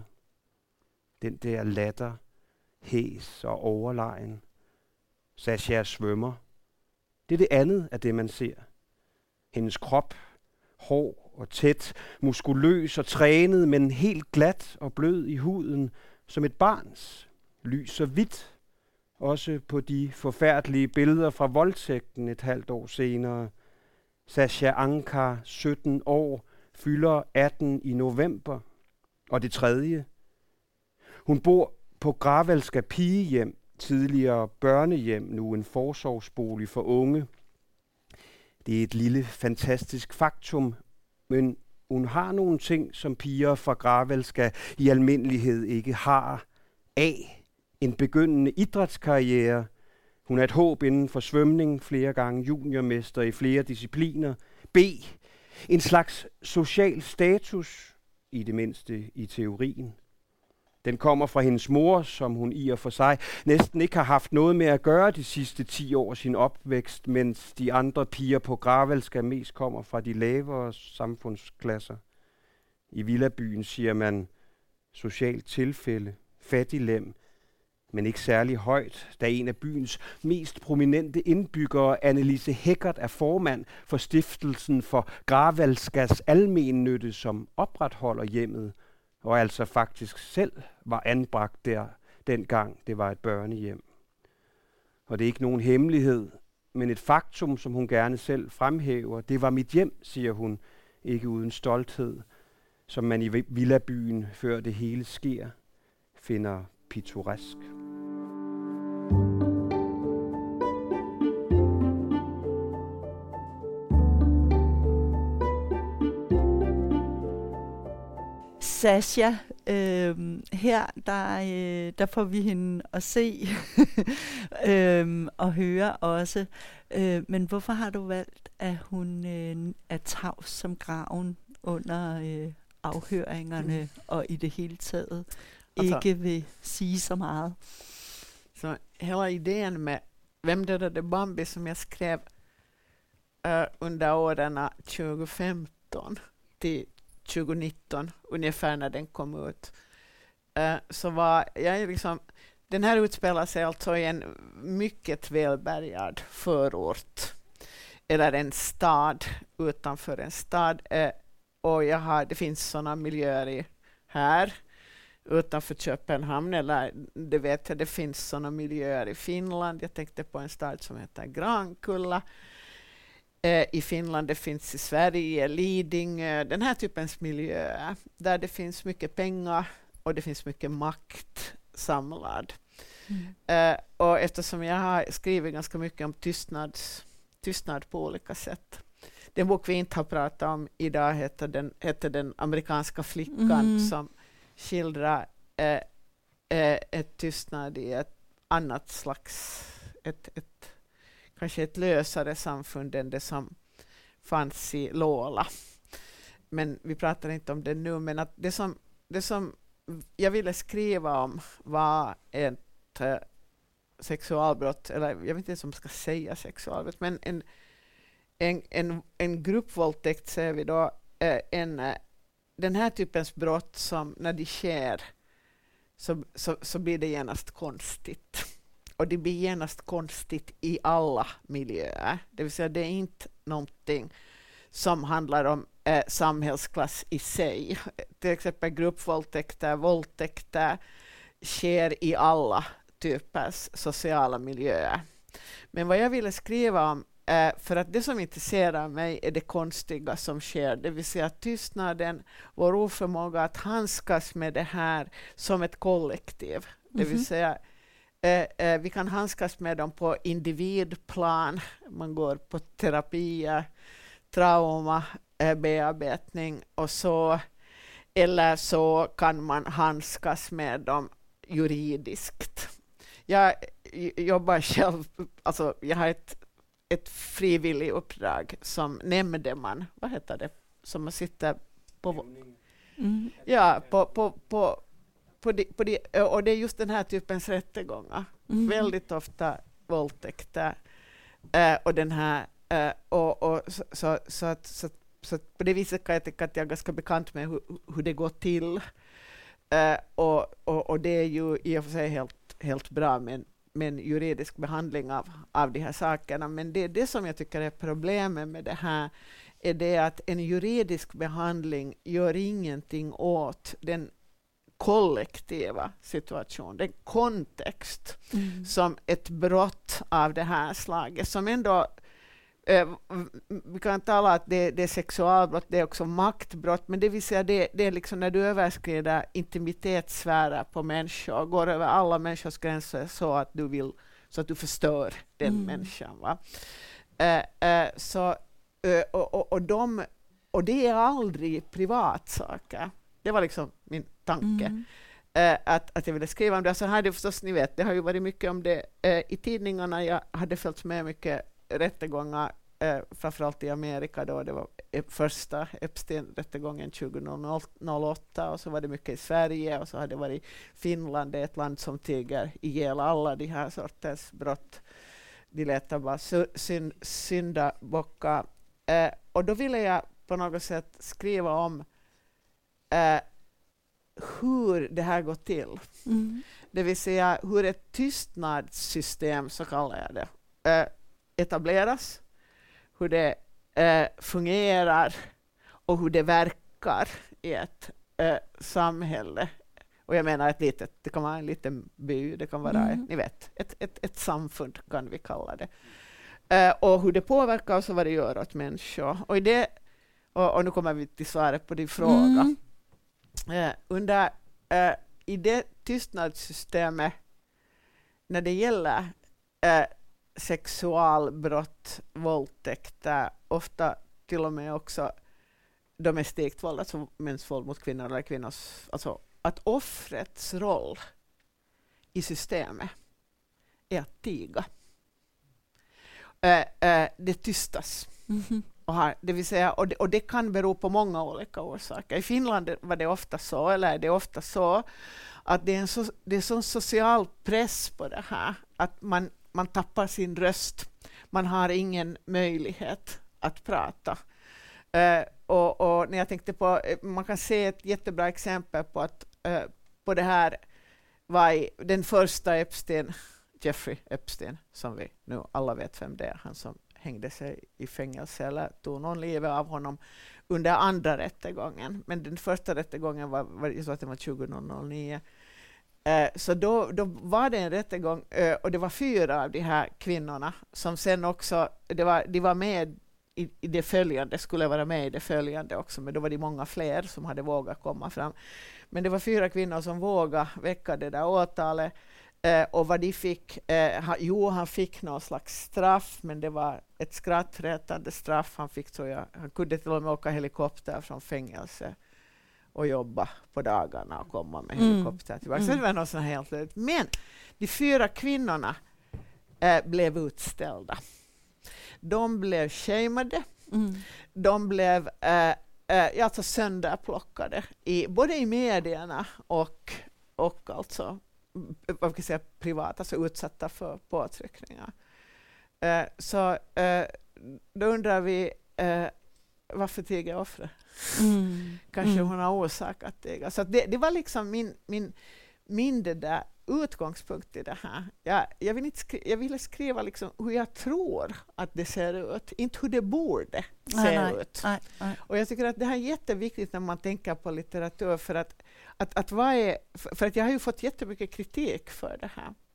Den der latter, hæs og overlegen. Sasha svømmer. Det er det andet af det, man ser. Hendes krop, hård og tæt, muskuløs og trænet, men helt glat og blød i huden, som et barns. Lys og hvidt, også på de forfærdelige billeder fra voldtægten et halvt år senere. Sasha Ankar, sytten år, fylder atten i november. Og det tredje. Hun bor på Gravalska pigehjem, tidligere børnehjem, nu en forsorgsbolig for unge. Det er et lille, fantastisk faktum, men hun har nogle ting, som piger fra Gravalska i almindelighed ikke har. A. En begyndende idrætskarriere. Hun er et håb inden for svømning, flere gange juniormester i flere discipliner. B. En slags social status, i det mindste i teorien. Den kommer fra hendes mor, som hun i og for sig næsten ikke har haft noget med at gøre de sidste ti år af sin opvækst, mens de andre piger på Gravalska mest kommer fra de lavere samfundsklasser. I villabyen siger man socialt tilfælde, fattiglem, men ikke særlig højt, da en af byens mest prominente indbyggere, Annelise Heckert, er formand for stiftelsen for Gravalskas almennytte, som opretholder hjemmet, og altså faktisk selv var anbragt der, dengang det var et børnehjem. Og det er ikke nogen hemmelighed, men et faktum, som hun gerne selv fremhæver. Det var mit hjem, siger hun, ikke uden stolthed, som man i villabyen, før det hele sker, finder pittoresk. Sasha, øh, her der, øh, der får vi hende at se øh, og høre også. Øh, men hvorfor har du valgt, at hun øh, er tavs som graven under øh, afhøringerne mm. og i det hele taget altså, ikke vil sige så meget? Så hela idén med Vem dödade Bambi som jag skrev uh, under åren tjugo femton till tjugo nitton, ungefär när den kom ut, uh, så var jag liksom, den här utspelar sig alltså i en mycket välbärgad förort, eller en stad utanför en stad, uh, och jag har, det finns sådana miljöer i, här utanför Köpenhamn, eller det vet jag, det finns sådana miljöer i Finland. Jag tänkte på en stad som heter Grankulla. Eh, I Finland, det finns i Sverige, Lidingö, den här typens miljöer där det finns mycket pengar och det finns mycket makt samlad. Mm. Eh, och eftersom jag har skrivit ganska mycket om tystnad, tystnad på olika sätt. Den bok vi inte har pratat om idag heter den, heter den amerikanska flickan mm. som skildrar eh, eh, ett tystnad i ett annat slags, ett, ett, kanske ett lösare samfund än det som fanns i Lola. Men vi pratar inte om det nu, men att det som, det som jag ville skriva om var ett eh, sexualbrott, eller jag vet inte om ska säga sexualbrott, men en, en, en, en gruppvåldtäkt ser vi då, eh, en den här typens brott som när de sker så, så, så blir det genast konstigt. Och det blir genast konstigt i alla miljöer. Det vill säga det är inte någonting som handlar om eh, samhällsklass i sig. Till exempel gruppvåldtäkter, våldtäkter sker i alla typers sociala miljöer. Men vad jag ville skriva om Eh, för att det som intresserar mig är det konstiga som sker, det vill säga tystnaden, vår oförmåga att handskas med det här som ett kollektiv. Mm-hmm. Det vill säga eh, eh, vi kan handskas med dem på individplan, man går på terapier, trauma, eh, bearbetning och så, eller så kan man handskas med dem juridiskt. Jag jobbar själv, alltså jag har ett ett frivillig uppdrag som nämndeman, vad heter det, som man sitter på, mm. ja, på, på, på, på, de, på de, och det är just den här typens rättegångar, mm. väldigt ofta våldtäkter äh, och den här äh, och, och så, så, så, att, så, så att på det viset kan jag tycka att jag är ganska bekant med hur, hur det går till äh, och, och, och det är ju i och för sig helt, helt bra, men med en juridisk behandling av, av de här sakerna. Men det är det som jag tycker är problemet med det här, är det att en juridisk behandling gör ingenting åt den kollektiva situationen, den kontext mm. som ett brott av det här slaget, som ändå eh, vi kan tala att det, det är sexualbrott, det är också maktbrott, men det vill säga det, det är liksom när du överskrider intimitetssfärer på människor, går över alla människors gränser så att du vill, så att du förstör den mm. människan, va? Eh, eh, så eh, och, och, och de och det är aldrig privatsaker. Det var liksom min tanke. Mm. Uh, att, att jag ville skriva om det. Så hade förstås, ni vet, det har ju varit mycket om det uh, i tidningarna. Jag hade följt med mycket rättegångar, uh, framförallt i Amerika då. Det var uh, första Epstein-rättegången tjugohundraåtta, och så var det mycket i Sverige, och så hade det varit Finland, det är ett land som tiger ihjäl alla de här sortens brott. De letar bara synd, syndabockar. Uh, och då ville jag på något sätt skriva om uh, hur det här går till. Mm. Det vill säga hur ett tystnadssystem, så kallar jag det, äh, etableras, hur det äh, fungerar och hur det verkar i ett äh, samhälle. Och jag menar ett litet, det kan vara en liten by, det kan vara, mm. ni vet, ett, ett, ett samfund kan vi kalla det. Äh, och hur det påverkar och så vad det gör åt människor. Och, i det, och, och nu kommer vi till svaret på din fråga. Mm. Uh, under, uh, i det tystnadssystemet när det gäller uh, sexualbrott, våldtäkter, ofta till och med också domestikt våld, alltså mäns våld mot kvinnor eller kvinnors, alltså att offrets roll i systemet är att tiga. Uh, uh, det tystas. Mm-hmm. Och här, det vill säga, och det, och det kan bero på många olika orsaker. I Finland var det ofta så, eller är det ofta så, att det är en så, det är sån social press på det här, att man, man tappar sin röst. Man har ingen möjlighet att prata. Uh, och, och när jag tänkte på, man kan se ett jättebra exempel på att uh, på det här var i, den första Epstein, Jeffrey Epstein, som vi nu alla vet vem det är, han som hängde sig i fängelse eller tog någon livet av honom under andra rättegången. Men den första rättegången var, var, så att det var tjugohundranio. Eh, så då, då var det en rättegång eh, och det var fyra av de här kvinnorna som sen också, det var, de var med i, i det följande, skulle vara med i det följande också, men då var det många fler som hade vågat komma fram. Men det var fyra kvinnor som vågade väcka det där åtalet. Uh, och vad de fick, uh, ha, jo han fick någon slags straff, men det var ett skrattretande straff. Han fick, tror jag, han kunde till och med åka helikopter från fängelse och jobba på dagarna och komma med mm. helikopter tillbaka. Mm. Så det var något sånt helt löjligt. Men de fyra kvinnorna uh, blev utställda. De blev shameade. Mm. De blev uh, uh, alltså sönderplockade i, både i medierna och, och alltså vad ska jag säga, privat, alltså utsatta för påtryckningar. Uh, så uh, då undrar vi uh, varför tiger offret? Mm. Kanske mm. hon har orsakat tiga. Så det, det var liksom min, min, min det där utgångspunkt i det här. Jag, jag, vill inte skri- jag ville skriva liksom hur jag tror att det ser ut, inte hur det borde se nej, ut. Nej, nej. Och jag tycker att det här är jätteviktigt när man tänker på litteratur, för att, att, att vad är, för att jag har ju fått jättemycket kritik för det här.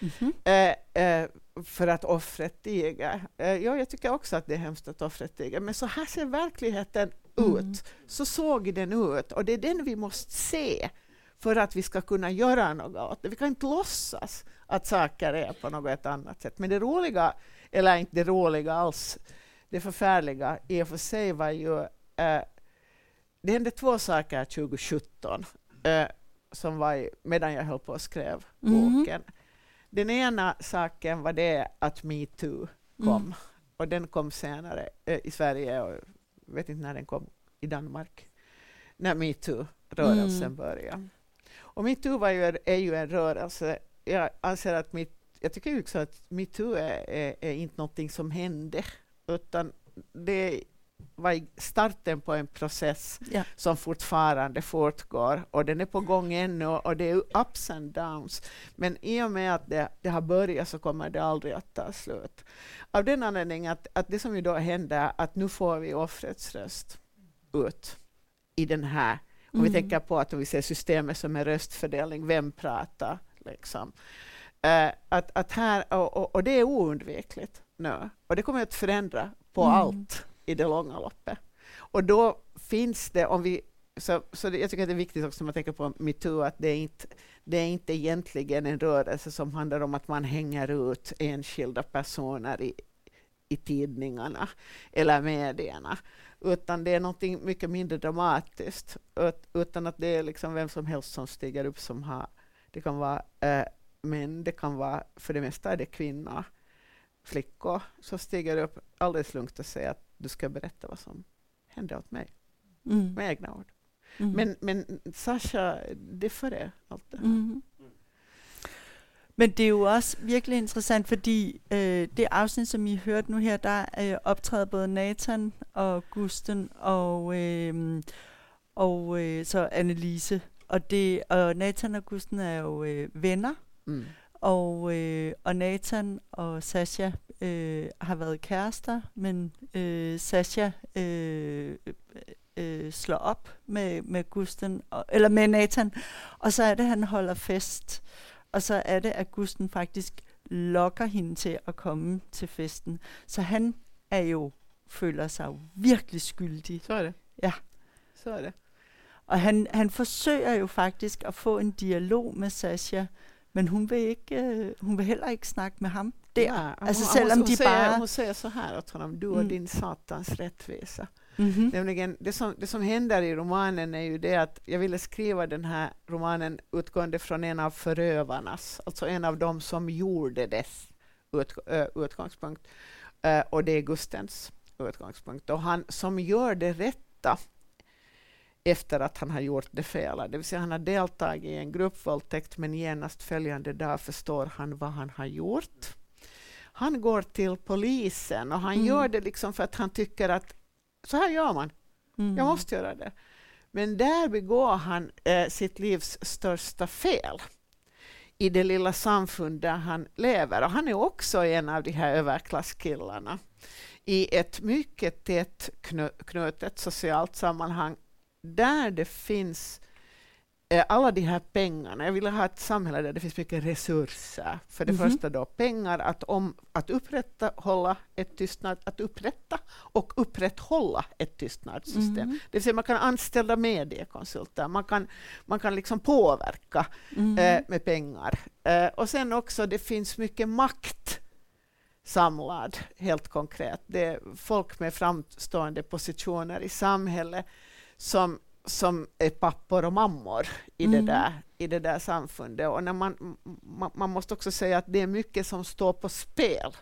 Mm-hmm. Eh, eh, för att offret tiger. Eh, ja, jag tycker också att det är hemskt att offret tiger. Men så här ser verkligheten Mm. ut. Så såg den ut. Och det är den vi måste se för att vi ska kunna göra något åt det. Vi kan inte låtsas att saker är på något annat sätt. Men det roliga, eller inte det roliga alls, det förfärliga i och för sig var ju... Eh, det hände två saker tjugo sjutton eh, som var i, medan jag höll på och skrev Mm. boken. Den ena saken var det att MeToo kom. Mm. Och den kom senare eh, i Sverige och jag vet inte när den kom i Danmark. När MeToo-rörelsen Mm. började. Och MeToo var ju, är ju en rörelse. Jag anser att mitt, jag tycker också att MeToo är, är, är inte någonting som hände. Utan det var starten på en process Ja. som fortfarande fortgår. Och den är på gång ännu och det är ups and downs. Men i och med att det, det har börjat så kommer det aldrig att ta slut. Av den anledningen att, att det som ju då händer att nu får vi offrets röst ut i den här. Om Mm. vi tänker på att vi ser systemet som en röstfördelning, vem pratar liksom. Uh, att, att här, och, och, och det är oundvikligt nu. Och det kommer att förändra på Mm. allt i det långa loppet. Och då finns det, om vi, så, så det, jag tycker att det är viktigt också när man tänker på MeToo, att det är, inte, det är inte egentligen en rörelse som handlar om att man hänger ut enskilda personer i, i tidningarna eller medierna. Utan det är någonting mycket mindre dramatiskt. Ut, utan att det är liksom vem som helst som stiger upp som har, det kan vara äh, män, det kan vara, för det mesta är det kvinnor, flickor som stiger upp alldeles lugnt och säger att du ska berätta vad som hände åt mig. Mm. Med egna ord. Mm. Men, men Sasha, det är före allt det här. Mm. Men det er jo også virkelig interessant, fordi øh, det afsnit, som I hørte nu her, der øh, optræder både Nathan og Gusten og, øh, og øh, så Annelise. Og, det, og Nathan og Gusten er jo øh, venner, Mm. og, øh, og Nathan og Sasha øh, har været kærester, men øh, Sasha øh, øh, slår op med, med Gusten, og, eller med Nathan, og så er det, han holder fest. Og så er det, at Gusten faktisk lokker hende til at komme til festen. Så han er jo, føler sig jo virkelig skyldig. Så er det. Ja. Så er det. Og han, han forsøger jo faktisk at få en dialog med Sasha, men hun vil, ikke, øh, hun vil heller ikke snakke med ham der. Ja, altså hon, selvom hon, de säger, bare... hon säger så här åt honom, du och Mm. din satans rättvisa. Mm-hmm. Nämligen, det som, det som händer i romanen är ju det att jag ville skriva den här romanen utgående från en av förövarnas, alltså en av dem som gjorde dess ut, ö, utgångspunkt. Ö, och det är Gustens utgångspunkt. Och han som gör det rätta efter att han har gjort det fel. Det vill säga han har deltagit i en gruppvåldtäkt, men genast följande dag förstår han vad han har gjort. Han går till polisen och han Mm. gör det liksom för att han tycker att så här gör man. Mm. Jag måste göra det. Men där begår han eh, sitt livs största fel i det lilla samfund där han lever. Och han är också en av de här överklasskillarna i ett mycket tätt knö- knutet socialt sammanhang där det finns eh, alla de här pengarna. Jag vill ha ett samhälle där det finns mycket resurser. För det Mhm. första då pengar att, om, att upprätthålla ett tystnad, att upprätta och upprätthålla ett tystnadssystem. Mhm. Det vill säga man kan anställa mediekonsulter, man kan, man kan liksom påverka Mm. eh, med pengar. Eh, och sen också det finns mycket makt samlad, helt konkret. Det är folk med framstående positioner i samhället som, som är pappor och mammor i, Mm. det där, i det där samfundet. Och när man, man, man måste också säga att det är mycket som står på spel.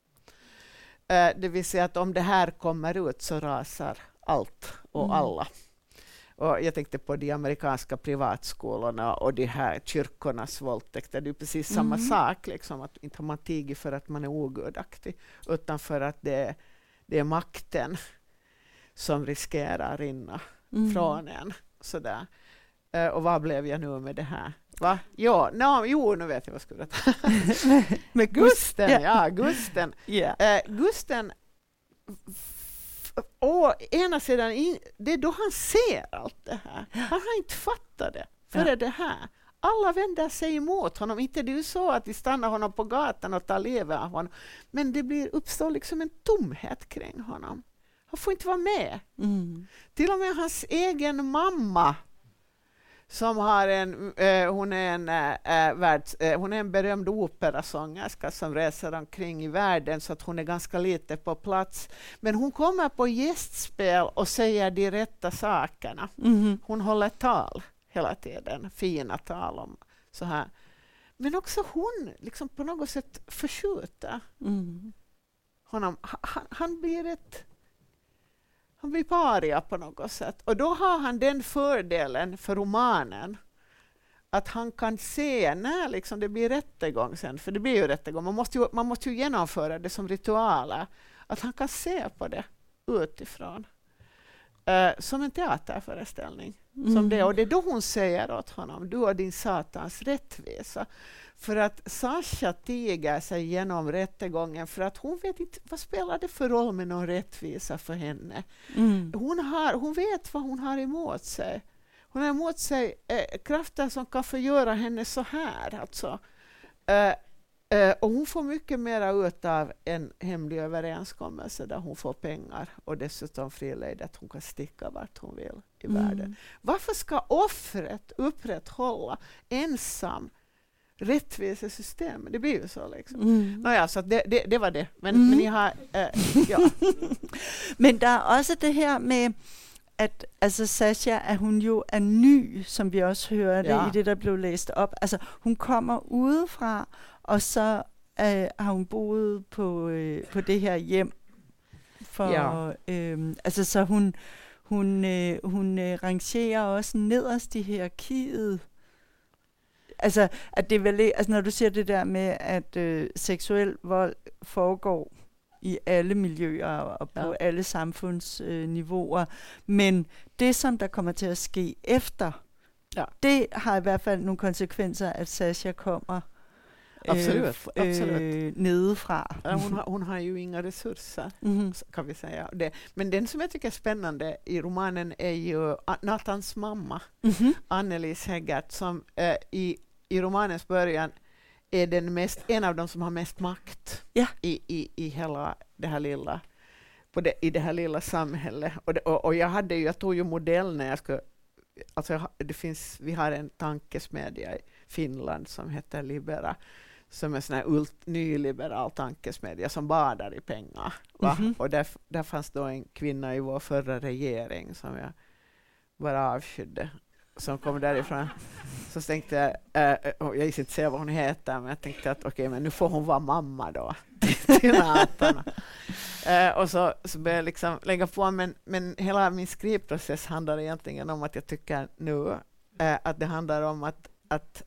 Eh, det vill säga att om det här kommer ut så rasar allt och Mm. alla. Och jag tänkte på de amerikanska privatskolorna och de här kyrkornas våldtäkter. Det är precis samma Mm. sak. Liksom, att inte har man tigit för att man är ogudaktig, utan för att det, det är makten som riskerar rinna Mm. från en. Sådär. Uh, och vad blev jag nu med det här? Va? Jo, no, jo, nu vet jag vad jag skulle berätta. Med Gusten, Ja. ja, Gusten. Ja. Uh, Gusten, å ena sidan, in, det är då han ser allt det här. Han har inte fattat det före Ja. det här. alla vänder sig emot honom. Inte det är ju så att vi stannar honom på gatan och tar livet av honom. Men det blir, uppstår liksom en tomhet kring honom. Han får inte vara med. Mm. Till och med hans egen mamma, som har en, eh, hon, är en eh, världs, eh, hon är en berömd operasångerska som reser omkring i världen, så att hon är ganska lite på plats. Men hon kommer på gästspel och säger de rätta sakerna. Mm. Hon håller tal hela tiden, fina tal om så här. Men också hon liksom på något sätt förskjuter mm. honom. Han, han blir ett Han blir paria på något sätt. Och då har han den fördelen för romanen att han kan se när liksom det blir rättegång sen. För det blir ju rättegång. Man måste ju, man måste ju genomföra det som ritualer. Att han kan se på det utifrån. Uh, som en teaterföreställning. Mm. Som det. Och det är då hon säger åt honom: du har din satans rättvisa. För att Sasha tiger sig genom rättegången, för att hon vet inte vad spelar det för roll med någon rättvisa för henne. Mm. Hon, har, hon vet vad hon har emot sig. Hon har emot sig eh, krafter som kan förgöra henne så här. Alltså. Eh, eh, och hon får mycket mer ut av en hemlig överenskommelse där hon får pengar och dessutom frilejd att hon kan sticka vart hon vill i mm. världen. Varför ska offret upprätthålla ensam rättvisa system? Det blir ju så liksom. Mm. Nåja, så det, det, det var det. Men, mm. men ni har... Äh, ja. Men der er også det her med, at altså Sasha, at hun jo er ny, som vi også hørte ja. i det, der blev læst op. Altså, hun kommer udefra, og så øh, har hun boet på, øh, på det her hjem. For, ja. øh, altså, så hun, hun, øh, hun øh, rangerer også nederst i hierarkiet. Altså, at det er vel, altså, når du siger det der med, at øh, seksuel vold foregår i alle miljøer og på ja. alle samfundsniveauer, øh, men det, som der kommer til at ske efter, ja. det har i hvert fald nogle konsekvenser, at Sasha kommer absolut, øh, absolut. Øh, nedefra. Ja, hon, har, hon har ju inga resurser, mm. kan vi säga. Det. Men den som jag tycker är spännande i romanen är ju Nathans mamma, mm-hmm. Annelise Heggert, som äh, i, i romanens början är den mest, en av dem som har mest makt ja. i, i, i hela det här lilla, på det, i det här lilla samhället. Och, det, och, och jag, hade ju, jag tog ju modell när jag skulle... Alltså, det finns, vi har en tankesmedja i Finland som heter Libera, som är en sån här ult, nyliberal tankesmedja som badar i pengar. Va? Mm-hmm. Och där, där fanns då en kvinna i vår förra regering som jag bara avskydde, som kom därifrån. Så tänkte jag, äh, jag visste inte säga vad hon heter, men jag tänkte att okej, okay, men nu får hon vara mamma då till Nathan. Uh, och så, så började jag liksom lägga på, men, men hela min skrivprocess handlar egentligen om att jag tycker nu uh, att det handlar om att, att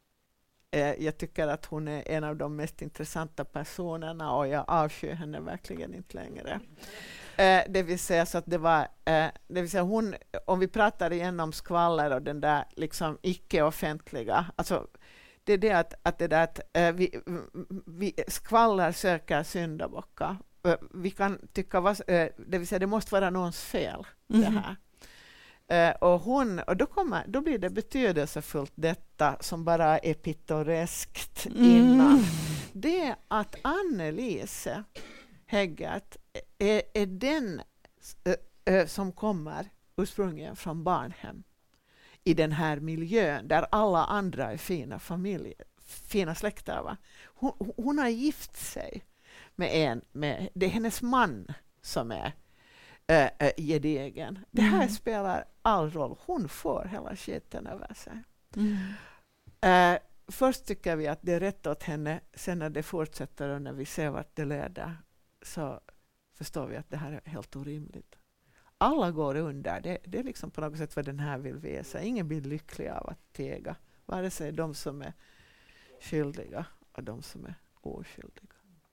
uh, jag tycker att hon är en av de mest intressanta personerna, och jag avskyr henne verkligen inte längre. Uh, det vill säga så att det var, uh, det vill säga hon, om vi pratar igen om skvaller och den där liksom icke-offentliga, alltså det är det att, att det där att uh, vi, vi skvaller söker syndabockar. Vi kan tycka, vad, det vill säga det måste vara någons fel mm. det här. Uh, och hon, och då, kommer, då blir det betydelsefullt detta som bara är pittoreskt mm. innan. Det är att Annelise Heggert är, är den uh, uh, som kommer ursprungligen från barnhem i den här miljön där alla andra är fina familjer, fina släkter. Va? Hon, hon har gift sig med en, med, det är hennes man som är äh, äh, gedigen. Det här mm. spelar all roll. Hon får hela skiten över sig. Mm. Äh, först tycker vi att det är rätt åt henne. Sen när det fortsätter och när vi ser vart det leder, så förstår vi att det här är helt orimligt. Alla går under. Det, det är liksom på något sätt vad den här vill visa. Ingen blir lycklig av att tega. Vare sig de som är skyldiga och de som är oskyldiga.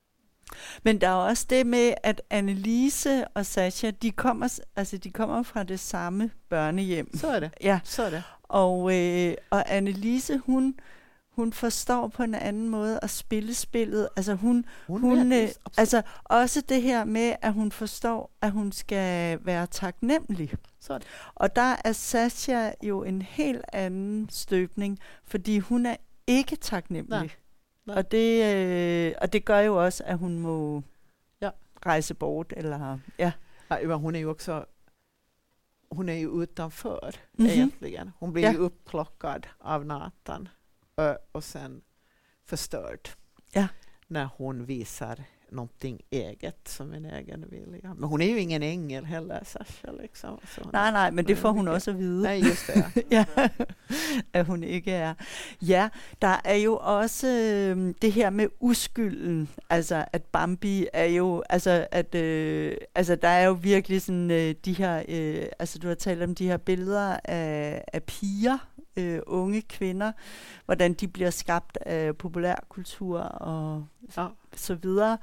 Men der er også det med, at Annelise og Sasha, de kommer, altså de kommer fra det samme børnehjem. Så er det. Ja. Så er det. Og, øh, og Annelise, hun, hun forstår på en anden måde at spille spillet. Altså hun, Hun hun ved øh, det, altså også det her med, at hun forstår, at hun skal være taknemmelig. Så er det. Og der er Sasha jo en helt anden støbning, fordi hun er ikke taknemmelig. Nej. Nej. Og det, øh, og det gør jo også, at hun må Ja. rejse bort. Eller, ja. Ja, men hon är ju också hon är ju utanför Mhm. egentligen. Hon blir Ja. ju upplockad av Nathan ö, och sen förstörd. Ja. När hon visar någonting eget som en egen vilja. Men hon är ju ingen ängel heller, Sasha. Liksom. Så hon, Nej, nej, men det hon får är hun mycket- også at vide. Nej, just det. Ja. Ja, at hun ikke er. Ja, der er jo også øh, det her med uskylden, altså at Bambi er jo, altså at, øh, altså der er jo virkelig sådan øh, de her, øh, altså du har talt om de her billeder af, af piger, øh, unge kvinder, hvordan de bliver skabt af populærkultur og Ja. så videre.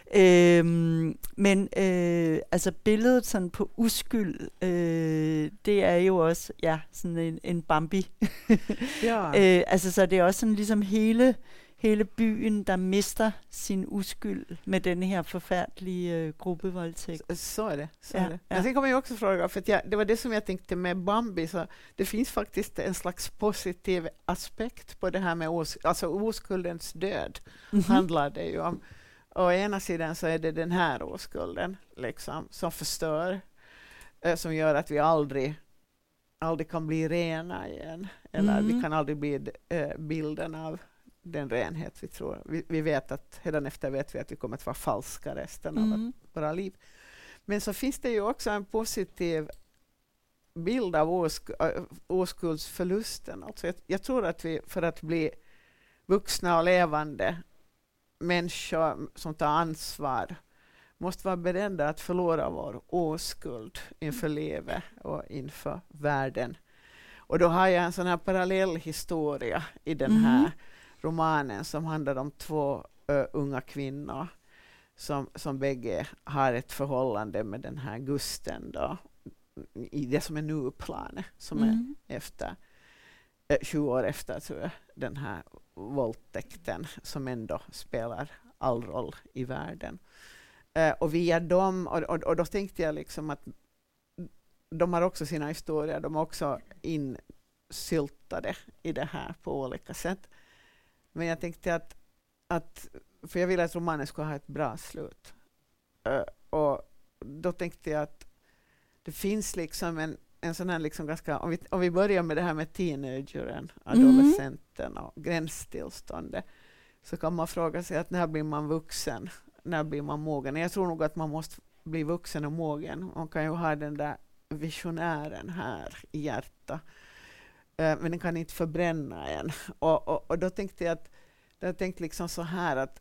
Øhm, men øh, altså billedet sådan på uskyld, øh, det er jo også ja sådan en, en Bambi. Ja. øh, altså så det er også sådan ligesom hele hele byen, der mister sin uskyld med den her forfærdelige øh, gruppevoldtægt. Så, så är det. Så Ja, är det. ja. Men sen kommer jag också fråga, för att jag, det var det som jag tänkte med Bambi, så det finns faktiskt en slags positiv aspekt på det här med os, alltså oskuldens död. Mhm. Handlar det ju om. Å ena sidan så är det den här oskulden liksom, som förstör, eh, som gör att vi aldrig, aldrig kan bli rena igen. Eller Mm. vi kan aldrig bli eh, bilden av den renhet vi tror. Vi, vi vet att, redan efter vet vi att vi kommer att vara falska resten av Mm. våra liv. Men så finns det ju också en positiv bild av osk- äh, oskuldsförlusten. Alltså jag, jag tror att vi för att bli vuxna och levande människor som tar ansvar måste vara beredda att förlora vår oskuld inför livet och inför världen. Och då har jag en sån här parallell historia i den Mhm. här romanen som handlar om två ö, unga kvinnor som, som bägge har ett förhållande med den här Gusten då, i det som är nu-planet som Mm. är efter eh, tjugo år efter tror jag, den här våldtäkten som ändå spelar all roll i världen. Eh, och via dem, och, och, och då tänkte jag liksom att de har också sina historier, de är också insyltade i det här på olika sätt. Men jag tänkte att, att för jag ville att romanen skulle ha ett bra slut. Uh, och då tänkte jag att det finns liksom en, en sån här liksom ganska, om vi, om vi börjar med det här med teenageren, adolescenten och gränstillståndet, så kan man fråga sig att när blir man vuxen? När blir man mogen? Jag tror nog att man måste bli vuxen och mogen. Man kan ju ha den där visionären här i hjärtat. Uh, men den kan inte förbränna en. Och, och, och då tänkte jag att jag tänkte liksom så här att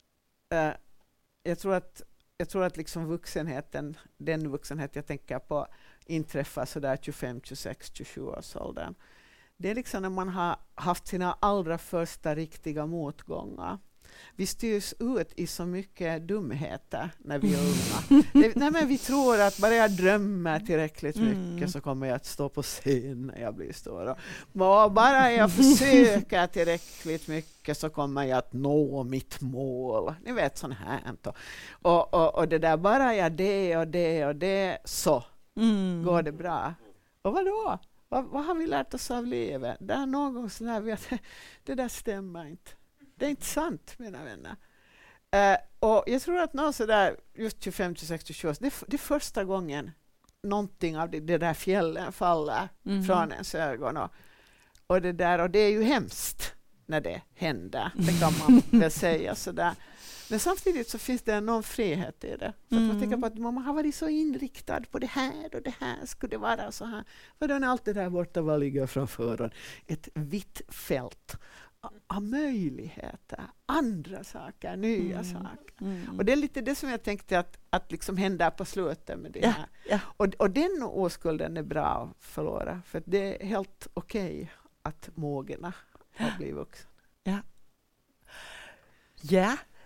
uh, jag tror att jag tror att liksom vuxenheten, den vuxenhet jag tänker på, inträffar så där tjugofem, tjugosex, tjugosju års åldern. Det är liksom när man har haft sina allra första riktiga motgångar. Vi styrs ut i så mycket dumheter när vi är unga. Det, nej men vi tror att bara jag drömmer tillräckligt mycket Mm. så kommer jag att stå på scen när jag blir stor. Och bara jag försöker tillräckligt mycket så kommer jag att nå mitt mål. Ni vet sånt här. Och, och, och det där, bara jag det och det och det så Mm. går det bra. Och vad då? Vad, vad har vi lärt oss av livet? Där någon gång så lär vi att det där stämmer inte. Det är inte sant, mina vänner. Uh, och jag tror att någon så där, just tjugofem, tjugosex, tjugosju, det, det är första gången någonting av det, det där fjällen faller Mhm. från ens ögon. Och, och, det där, och det är ju hemskt när det händer. Det kan man väl säga sådär. Men samtidigt så finns det någon frihet i det. För att man Mm. tänker på att man har varit så inriktad på det här och det här skulle det vara så här. För då är allt det där borta vad ligger framför en. Ett vitt fält av möjligheter, andra saker, nya Mm. saker. Mm. Och det är lite det som jag tänkte att, att liksom hända på slutet med det Ja, här. ja. Och, och den oskulden är bra att förlora. För att det är helt okej att mogna och bli vuxen. Ja.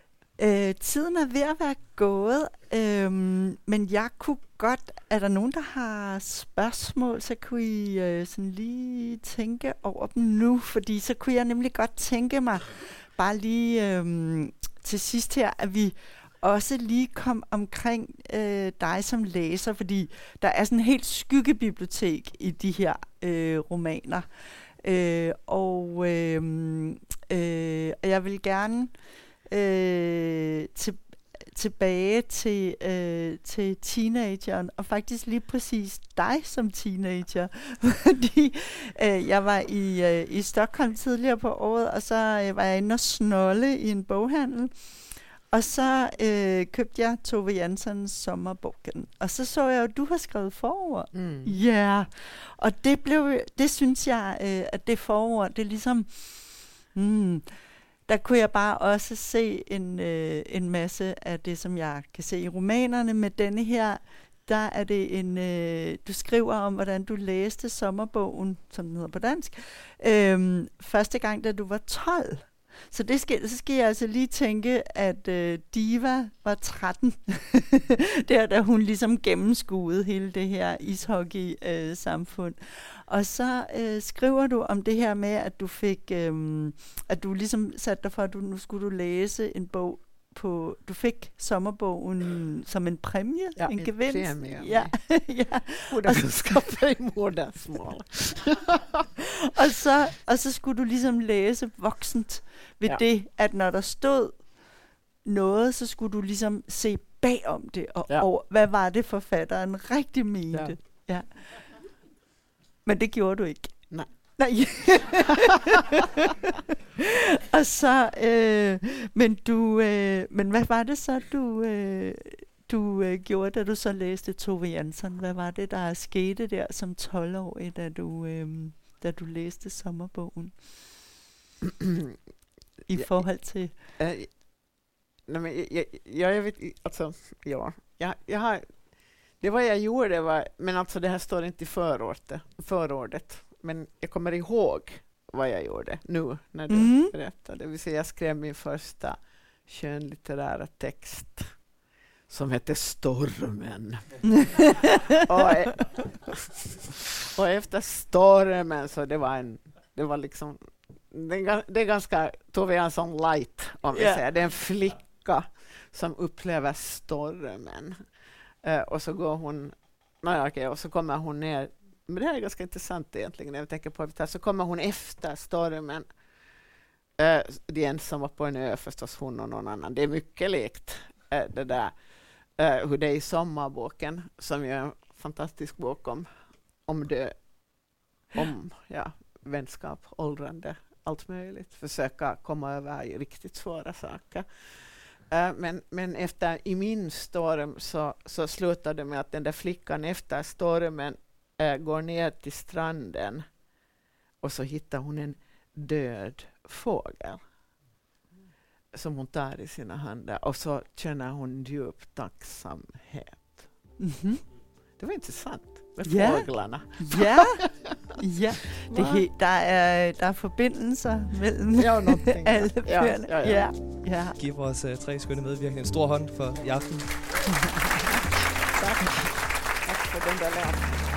Øh, tiden er ved at være gået, øhm, men jeg kunne godt, er der nogen, der har spørgsmål, så kunne I øh, sådan lige tænke over dem nu, fordi så kunne jeg nemlig godt tænke mig, bare lige øhm, til sidst her, at vi også lige kom omkring øh, dig som læser, fordi der er sådan et helt skyggebibliotek i de her øh, romaner. Øh, og øh, øh, jeg vil gerne øh, til, tilbage til, øh, til teenageren, og faktisk lige præcis dig som teenager, fordi øh, jeg var i, øh, i Stockholm tidligere på året, og så øh, var jeg inde og snolde i en boghandel, og så øh, købte jeg Tove Janssons Sommerboken. Og så så jeg jo, at du har skrevet forord. Ja. Mm. Yeah. Og det blev, det synes jeg, øh, at det forord, det er ligesom, mm, der kunne jeg bare også se en, øh, en masse af det, som jeg kan se i romanerne. Med denne her, der er det en, øh, du skriver om, hvordan du læste Sommerbogen, som den hedder på dansk, øh, første gang, da du var tolv. Så det skal, så skal jeg altså lige tænke, at øh, Diva var tretten, der da hun ligesom gennemskuede hele det her ishockey-samfund. Øh, og så øh, skriver du om det her med, at du fik, øh, at du ligesom satte dig for, at du, nu skulle du læse en bog på, du fik Sommerbogen som en præmie, ja, en gevinst. Premie, ja, ja. Og så skaffe i modersmål. og så og så skulle du ligesom læse voksent ved ja. det, at når der stod noget, så skulle du ligesom se bagom det og ja. over, hvad var det forfatteren rigtig mente. Ja. Ja. Men det gjorde du ikke. Nej. Nej. og så, øh, men du, øh, men hvad var det så, du, øh, du øh, gjorde, da du så læste Tove Jansson? Hvad var det, der skete der som tolv-årig, da du, øh, da du læste Sommerbogen? I ja, forhold til... Äh, nej, men jeg, jeg, jag vet, alltså, ja, jag, jag har, det var jag gjorde, det var, men alltså det här står inte i förordet, förordet. Men jag kommer ihåg vad jag gjorde nu när du mm. berättade. Det vill säga jag skrev min första skönlitterära text som hette Stormen. och, och efter Stormen så det var en, det var liksom, det, det är ganska Tove Jansson light om vi yeah. säger. Det är en flicka som upplever stormen. Uh, och så går hon, nej, okay, och så kommer hon ner. Men det här är ganska intressant egentligen när jag tänker på det. Så kommer hon efter stormen. Uh, det är en som var på en ö förstås, hon och någon annan. Det är mycket likt uh, det där uh, hur det är i Sommarboken, som är en fantastisk bok om, om det, om ja, vänskap, åldrande, allt möjligt. Försöka komma över riktigt svåra saker. Uh, men, men efter i min storm så, så slutade det med att den där flickan efter stormen uh, går ner till stranden och så hittar hon en död fågel som hon tar i sina händer och så känner hon djup tacksamhet. Mm-hmm. Det var intressant med yeah. fåglarna. Ja, ja. Det he- der, er, der er forbindelser mellem ja, alle bøgerne. Ja, ja, ja. Ja, ja. Giv vores uh, tre skønne medvirkende en stor hånd for i aften. Tak. Tak for den der lærer.